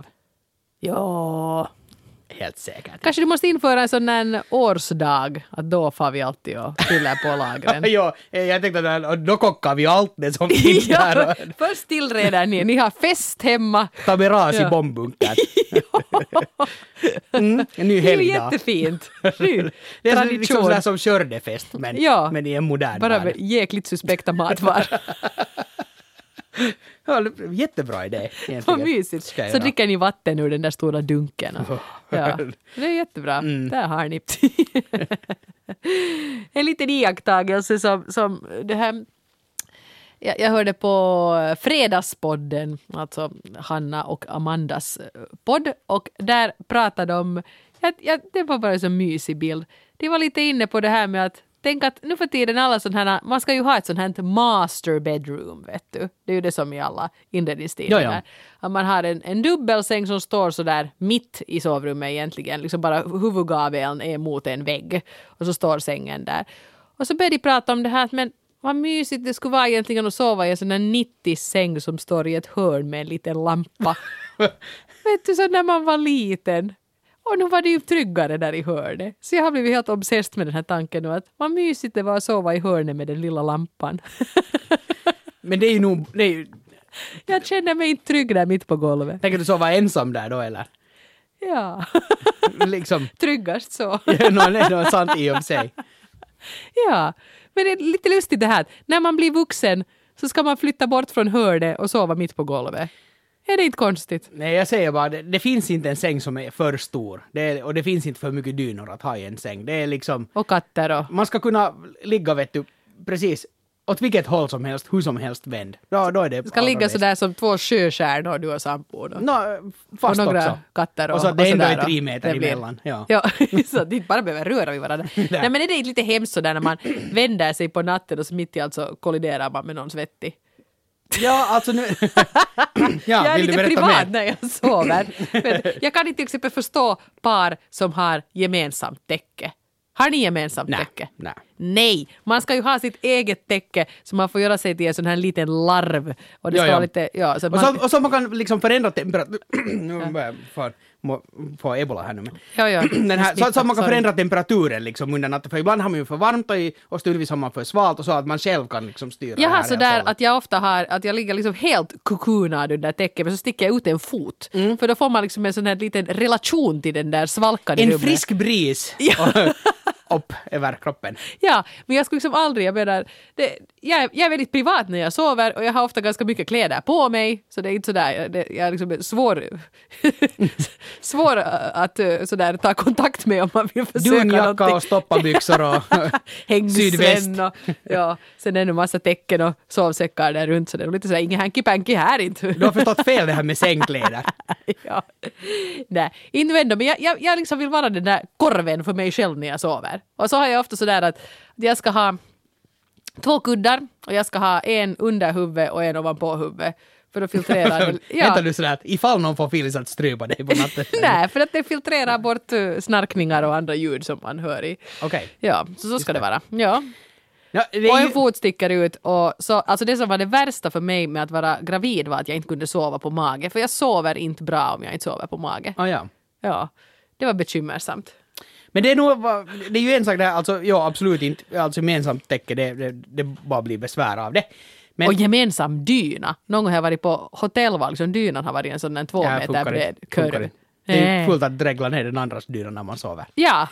Ja... Helt säkert. Kanske du måste införa en sån här årsdag, att då får vi alltid och fyller på lagren. Ja, jag tänkte att då kockar vi allt det som finns ja, där. Först tillreder ni, ni har fest hemma. Ta med ras ja. i bombbunken. mm, en ny helgdag. Det är ju jättefint. Ny det är liksom sådär som kördefest, men, ja, men i en modern bara värld. jäkligt suspekta matvar. Ja, jättebra idé. Vad mysigt. Så dricker ni vatten ur den där stora dunken. Ja, det är jättebra. Mm. Där har ni. En liten iakttagelse som, som det här... Jag, jag hörde på Fredagspodden, alltså Hanna och Amandas podd, och där pratade de... Ja, ja, det var bara en så mysig bild. De var lite inne på det här med att tänk att nu för tiden alla sådana här, man ska ju ha ett sånt här master bedroom, vet du. Det är ju det som i alla inredningsstilar. Ja, ja. Att man har en, en dubbelsäng som står så där mitt i sovrummet egentligen. Liksom bara huvudgaveln är mot en vägg. Och så står sängen där. Och så började de prata om det här, men vad mysigt det skulle vara egentligen att sova i en sån här nittio-säng som står i ett hörn med en liten lampa. Vet du, så när man var liten... Och nu var det ju tryggare där i hörnet. Så jag har blivit helt obsessed med den här tanken nu. Att vad mysigt det var att sova i hörnet med den lilla lampan. Men det är ju nog... Det är ju... Jag känner mig inte trygg där mitt på golvet. Tänker du sova ensam där då, eller? Ja. liksom... Tryggast så. ja, no, det är sant i och sig. Ja. Men det är lite lustigt det här. När man blir vuxen så ska man flytta bort från hörnet och sova mitt på golvet. Är det inte konstigt? Nej, jag säger bara, det, det finns inte en säng som är för stor. Det är, och det finns inte för mycket dynor att ha i en säng. Det är liksom... Och katter och... Man ska kunna ligga, vet du, precis åt vilket håll som helst, hur som helst vänd. Då, då är det... Det ska ligga sådär som två sjöstjärnor du har sambo då. No, fast och några också. Katter och, och så det och ändå är tre meter blir... emellan. Ja, ja så det inte bara behöver röra vid varandra. Nej, men är det inte lite hemskt sådär när man vänder sig på natten och så mitt i alltså kolliderar man med någon svettig? Ja, alltså nu... ja, jag är lite privat mer? när jag sover. Men jag kan inte till exempel förstå par som har gemensamt täcke. Har ni gemensamt nej, täcke? Nej. Nej, man ska ju ha sitt eget täcke så man får göra sig till en sån här liten larv. Och det ska ja, ja. vara lite... Ja, så och, man, så, och så man kan liksom förändra temperatur... nu börjar jag få, må, få ebola här nu. Men. ja, ja. Den här, så, så man kan Sorry. förändra temperaturen liksom under natten. För ibland har man ju för varmt och, i, och stundvis har man för svalt och så att man själv kan liksom styra Jag det har här. sådär att jag ofta har, att jag ligger liksom helt kukunad under täcket men så sticker jag ut en fot. Mm. För då får man liksom en sån här liten relation till den där svalkan i En rummet. frisk bris upp över kroppen. Ja, men jag skulle liksom aldrig, jag menar, det, jag, är, jag är väldigt privat när jag sover och jag har ofta ganska mycket kläder på mig så det är inte sådär, det, jag är liksom svår svår att sådär ta kontakt med om man vill försöka Dunjacka någonting. och stoppabyxor och Hängslen och ja, sen är det en massa tecken och sovsäckar där runt så det är lite sådär, ingen hanky-panky här inte. Du har förstått fel det här med sängkläder. ja. Nej, inte ändå, men jag, jag, jag liksom vill vara den där korven för mig själv när jag sover. Och så har jag ofta sådär att jag ska ha två kuddar och jag ska ha en under huvudet och en ovanpå huvudet. För att filtrera det. Ja. Vänta du sådär att ifall någon får Phyllis att strypa dig på natten. Nej, för att det filtrerar bort uh, snarkningar och andra ljud som man hör i. Okej. Okay. Ja, så så ska det. det vara. Ja. Ja, det och är en ju... fot sticker ut och så, alltså det som var det värsta för mig med att vara gravid var att jag inte kunde sova på mage. För jag sover inte bra om jag inte sover på mage. Ah, ja. Ja, det var bekymmersamt. Men det är nog, det är ju en sak där, alltså ja absolut inte, alltså gemensamt täcke, det, det, det bara blir besvär av det. Men, och gemensam dyna. Någon gång har jag varit på hotell, var liksom dynan har varit en sån där två ja, meter bred kurv. Det är fullt att dregla ner den andras dyna när man sover. Ja.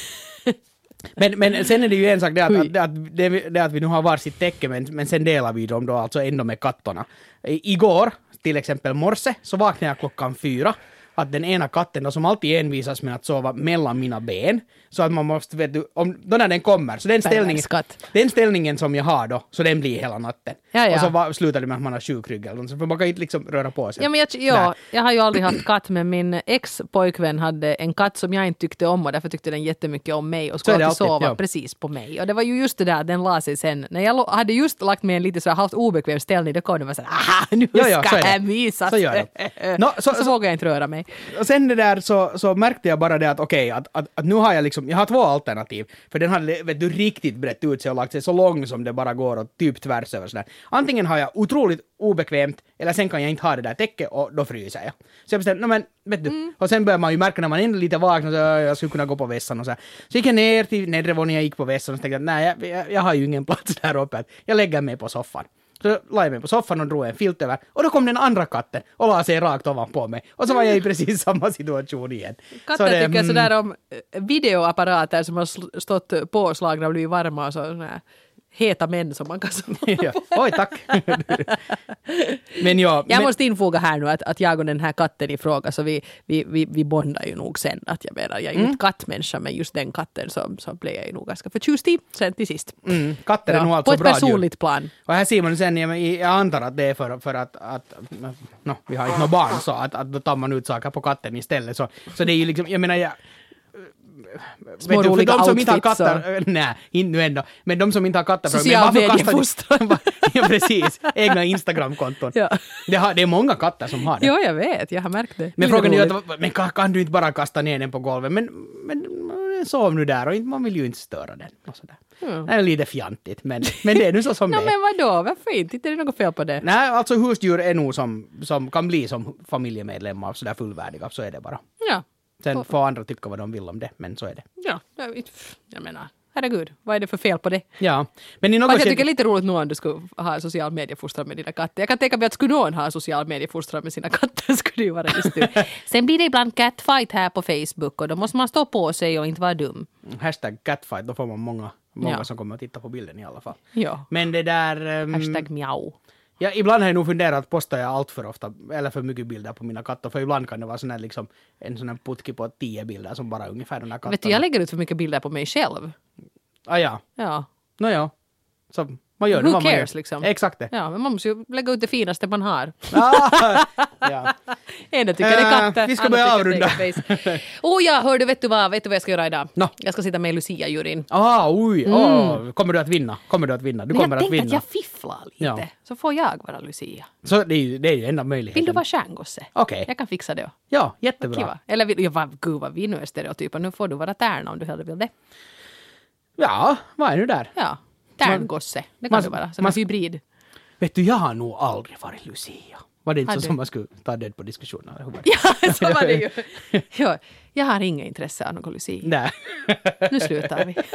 men, men sen är det ju en sak det att, att, att, det, det att vi nu har varsitt täcke men, men sen delar vi dem då alltså ändå med kattorna. I, igår, till exempel morse, så vaknade jag klockan fyra. Att den ena katten då, som alltid envisas med att sova mellan mina ben. Så att man måste, vet du, om, då när den kommer, så den ställningen, den ställningen som jag har då, så den blir hela natten. Ja, ja. Och så va, slutar det med att man har sjukrygg eller något, för man kan inte liksom röra på sig. Ja, men jag, ja, jag har ju aldrig haft katt, men min ex-pojkvän hade en katt som jag inte tyckte om och därför tyckte den jättemycket om mig och skulle alltid, alltid sova ja. precis på mig. Och det var ju just det där att den la sig sen. När jag hade just lagt mig en lite så här halvt obekväm ställning, då kom det var så här, aha, nu ja, ja, ska jag mysas. Så gör det. No, så, så, så, så vågar jag inte röra mig. Och sen det där så, så märkte jag bara det att okej, okay, att, att, att nu har jag liksom, jag har två alternativ. För den hade, vet du, riktigt brett ut sig och lagt sig så lång som det bara går och typ tvärs över sådär. Antingen har jag otroligt obekvämt eller sen kan jag inte ha det där täcket och då fryser jag. Så jag bestämde, no, men vet du, mm. och sen börjar man ju märka när man är lite vaken så jag skulle kunna gå på vässan och så här. Så gick jag ner till nedre våningen, jag gick på vässan och tänkte att nej, jag, jag, jag har ju ingen plats där uppe. Jag lägger mig på soffan. Så la jag mig på soffan och drog en filt över. Och då kom den andra katten och la sig rakt ovanpå mig. Och så var jag i precis samma situation igen. Katter tycker mm. sådär om videoapparater som har stått påslagna och blivit varma och sådär. Heta män som man kan ja. Oj, tack. men ja, jag men... måste infoga här nu att, att jag och den här katten i fråga så vi, vi, vi, vi bondar ju nog sen. Att jag menar, jag är ju mm. inte kattmänniska men just den katten så, så blev jag ju nog ganska förtjust i sen till sist. Mm. Katter är ja, nog alltså bra på ett personligt djur. Plan. Och här ser man sen, jag, jag antar att det är för, för att, att no, vi har inte några barn så att, att då tar man ut saker på katten istället. Så, så det är ju liksom, jag menar jag små du, roliga för de som outfits. Inte har katter, nej, inte nu ändå. Men de som inte har katter... Social mediefostran. Ja, precis. Egna Instagram-konton. Ja. Det, har, det är många katter som har det. Ja, jag vet. Jag har märkt det. Men frågan är ju att men kan, kan du inte bara kasta ner den på golvet? Men, men sov nu där och man vill ju inte störa den. Och sådär. Mm. Det är lite fjantigt, men, men det är nu så som no, det är. Men vadå? Varför inte? Inte är det något fel på det? Nej, alltså husdjur är nog som, som kan bli som familjemedlemmar sådär fullvärdiga. Så är det bara. Ja. Sen får andra tycka vad de vill om det, men så är det. Ja, jag menar, herregud, vad är det för fel på det? Ja, men i något jag tycker det är lite roligt nu om du skulle ha social mediefostran med dina katter. Jag kan tänka mig att skulle någon ha social mediefostran med sina katter skulle det ju vara just du. Sen blir det ibland catfight här på Facebook och då måste man stå på sig och inte vara dum. Hashtag catfight, då får man många, många ja. som kommer att titta på bilden i alla fall. Ja. Men det där... Um, Hashtag mjau. Ja, ibland har jag nog funderat att posta jag allt för ofta eller för mycket bilder på mina katter. För ibland kan det vara sån här, liksom, en sån här putki på tio bilder som bara ungefär de här katterna. Vet du, jag lägger ut för mycket bilder på mig själv. Ah ja. Ja. Nå ja. Så man gör Who det. Who cares liksom? Exakt det. Ja, men man måste ju lägga ut det finaste man har. Ah, ja. Ena tycker det är katter. Uh, vi ska börja avrunda. Oh ja, hör du, vet du vad, vet du vad jag ska göra idag? No. Jag ska sitta med i Lucia-juryn. Ah, oj. Mm. Oh. Kommer du att vinna? Kommer du att vinna? Du men kommer jag att vinna. tänkte att jag fifflar lite. Ja. Så får jag vara Lucia. Så det är ju, det är ju enda möjligheten. Vill du vara stjärngosse? Okej. Okay. Jag kan fixa det. Ja, jättebra. Kiva. Eller vill, ja, gud vad vi nu är stereotyper. Nu får du vara tärna om du hellre vill det. Ja, vad är nu där? Ja, tärngosse. Det kan man- det vara. Sån man- här hybrid. Vet du, jag har nog aldrig varit Lucia. Var det inte Har så du? som man skulle ta det på diskussionen? eller hur var det? Ja, så var det ju. Ja, jag har inga intresse av någon Lucia. Nej. Nu slutar vi.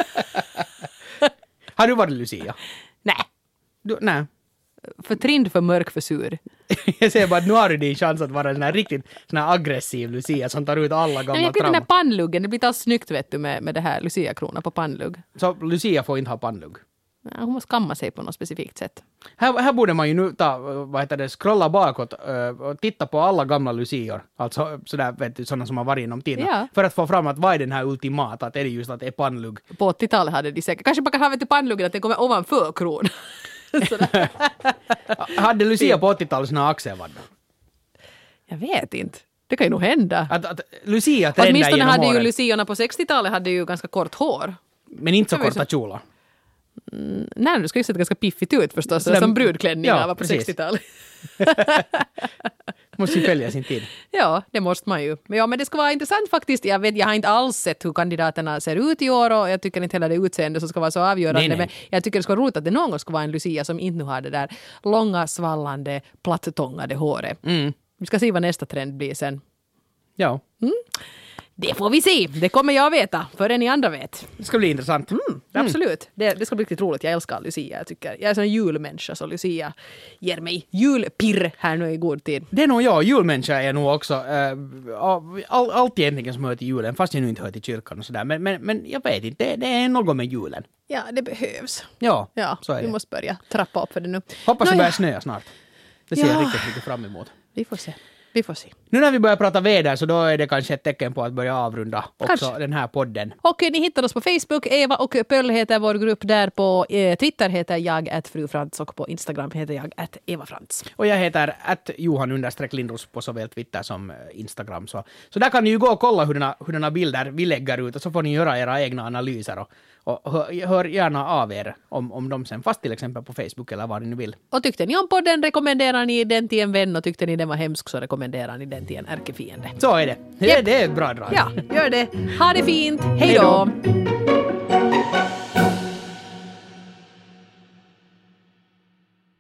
Har du varit Lucia? Nej, Du, nej. för trind, för mörk, för sur. Jag säger bara att nu har du din chans att vara en sån här riktigt sån här aggressiv Lucia som tar ut alla Men gamla jag tycker den trauman. där pannluggen, det blir inte alls snyggt vet du med, med det här Lucia-krona på pannlugg. Så Lucia får inte ha pannlugg. Ja, hon måste kamma sig på något specifikt sätt. Här, här borde man ju nu ta, vad heter det, scrolla bakåt uh, och titta på alla gamla Lucior. Alltså sådär, vet du, sådana som har varit inom tiden. Ja. För att få fram att vad är den här ultimata, att är det just att det är pannlugg. På åttiotalet hade de säkert, kanske man kan ha vet du, pannluggen att den kommer ovanför kronan. Sådär. Hade Lucia på åttiotalet såna axelvaddar? Jag vet inte. Det kan ju nog hända. Att, att Lucia trendar Åtminstone genom hade ju åren, Luciorna på sextiotalet hade ju ganska kort hår. men inte så Det var ju korta kjolar. Nej, det ska ju se ganska piffigt ut förstås. Sådär- Som brudklänningar ja, var på precis. sextiotalet. Måste ju följa sin tid. Ja, det måste man ju. Men, ja, men det ska vara intressant faktiskt. Jag vet, jag har inte alls sett hur kandidaterna ser ut i år och jag tycker inte heller det utseende som ska vara så avgörande. Nej, nej. Men jag tycker det ska vara roligt att det någon gång ska vara en Lucia som inte nu har det där långa, svallande, plattångade håret. Mm. Vi ska se vad nästa trend blir sen. Ja, Det får vi se. Det kommer jag veta, förrän ni andra vet. det ska bli intressant. Mm, absolut. Det, det ska bli riktigt roligt. Jag älskar Lucia. Jag, tycker, jag är en sån julmänniska så Lucia ger mig julpirr här nu i god tid. Det är nog jag, julmänniska är jag nog också. Äh, all, allt egentligen som hör till julen, fast jag nu inte hör till kyrkan och sådär. Men, men, men jag vet inte, det, det är något med julen. Ja, det behövs. Ja, Ja, så är vi det. måste börja trappa upp för det nu. Hoppas det Nåja, börjar snöa snart. Det ser jag Ja. riktigt mycket fram emot. Vi får se. Vi får se. Nu när vi börjar prata väder så då är det kanske ett tecken på att börja avrunda också Kanske. den här podden. Och ni hittar oss på Facebook. Eva och Pöll heter vår grupp där. På eh, Twitter heter jag att frufrans och på Instagram heter jag att Eva Frans. Och jag heter att Johan understreck Lindros på såväl Twitter som eh, Instagram. Så, så där kan ni ju gå och kolla hurdana, hurdana bilder vi lägger ut och så får ni göra era egna analyser och, och hör, hör gärna av er om, om dem sen, fast till exempel på Facebook eller vad ni nu vill. Och tyckte ni om podden rekommenderar ni den till en vän och tyckte ni den var hemsk så rekommenderar ni den till en ärkefiende. Så är det. Det, Japp. det är ett bra drag. Ja, gör det. Ha det fint. Hej Hej då! då.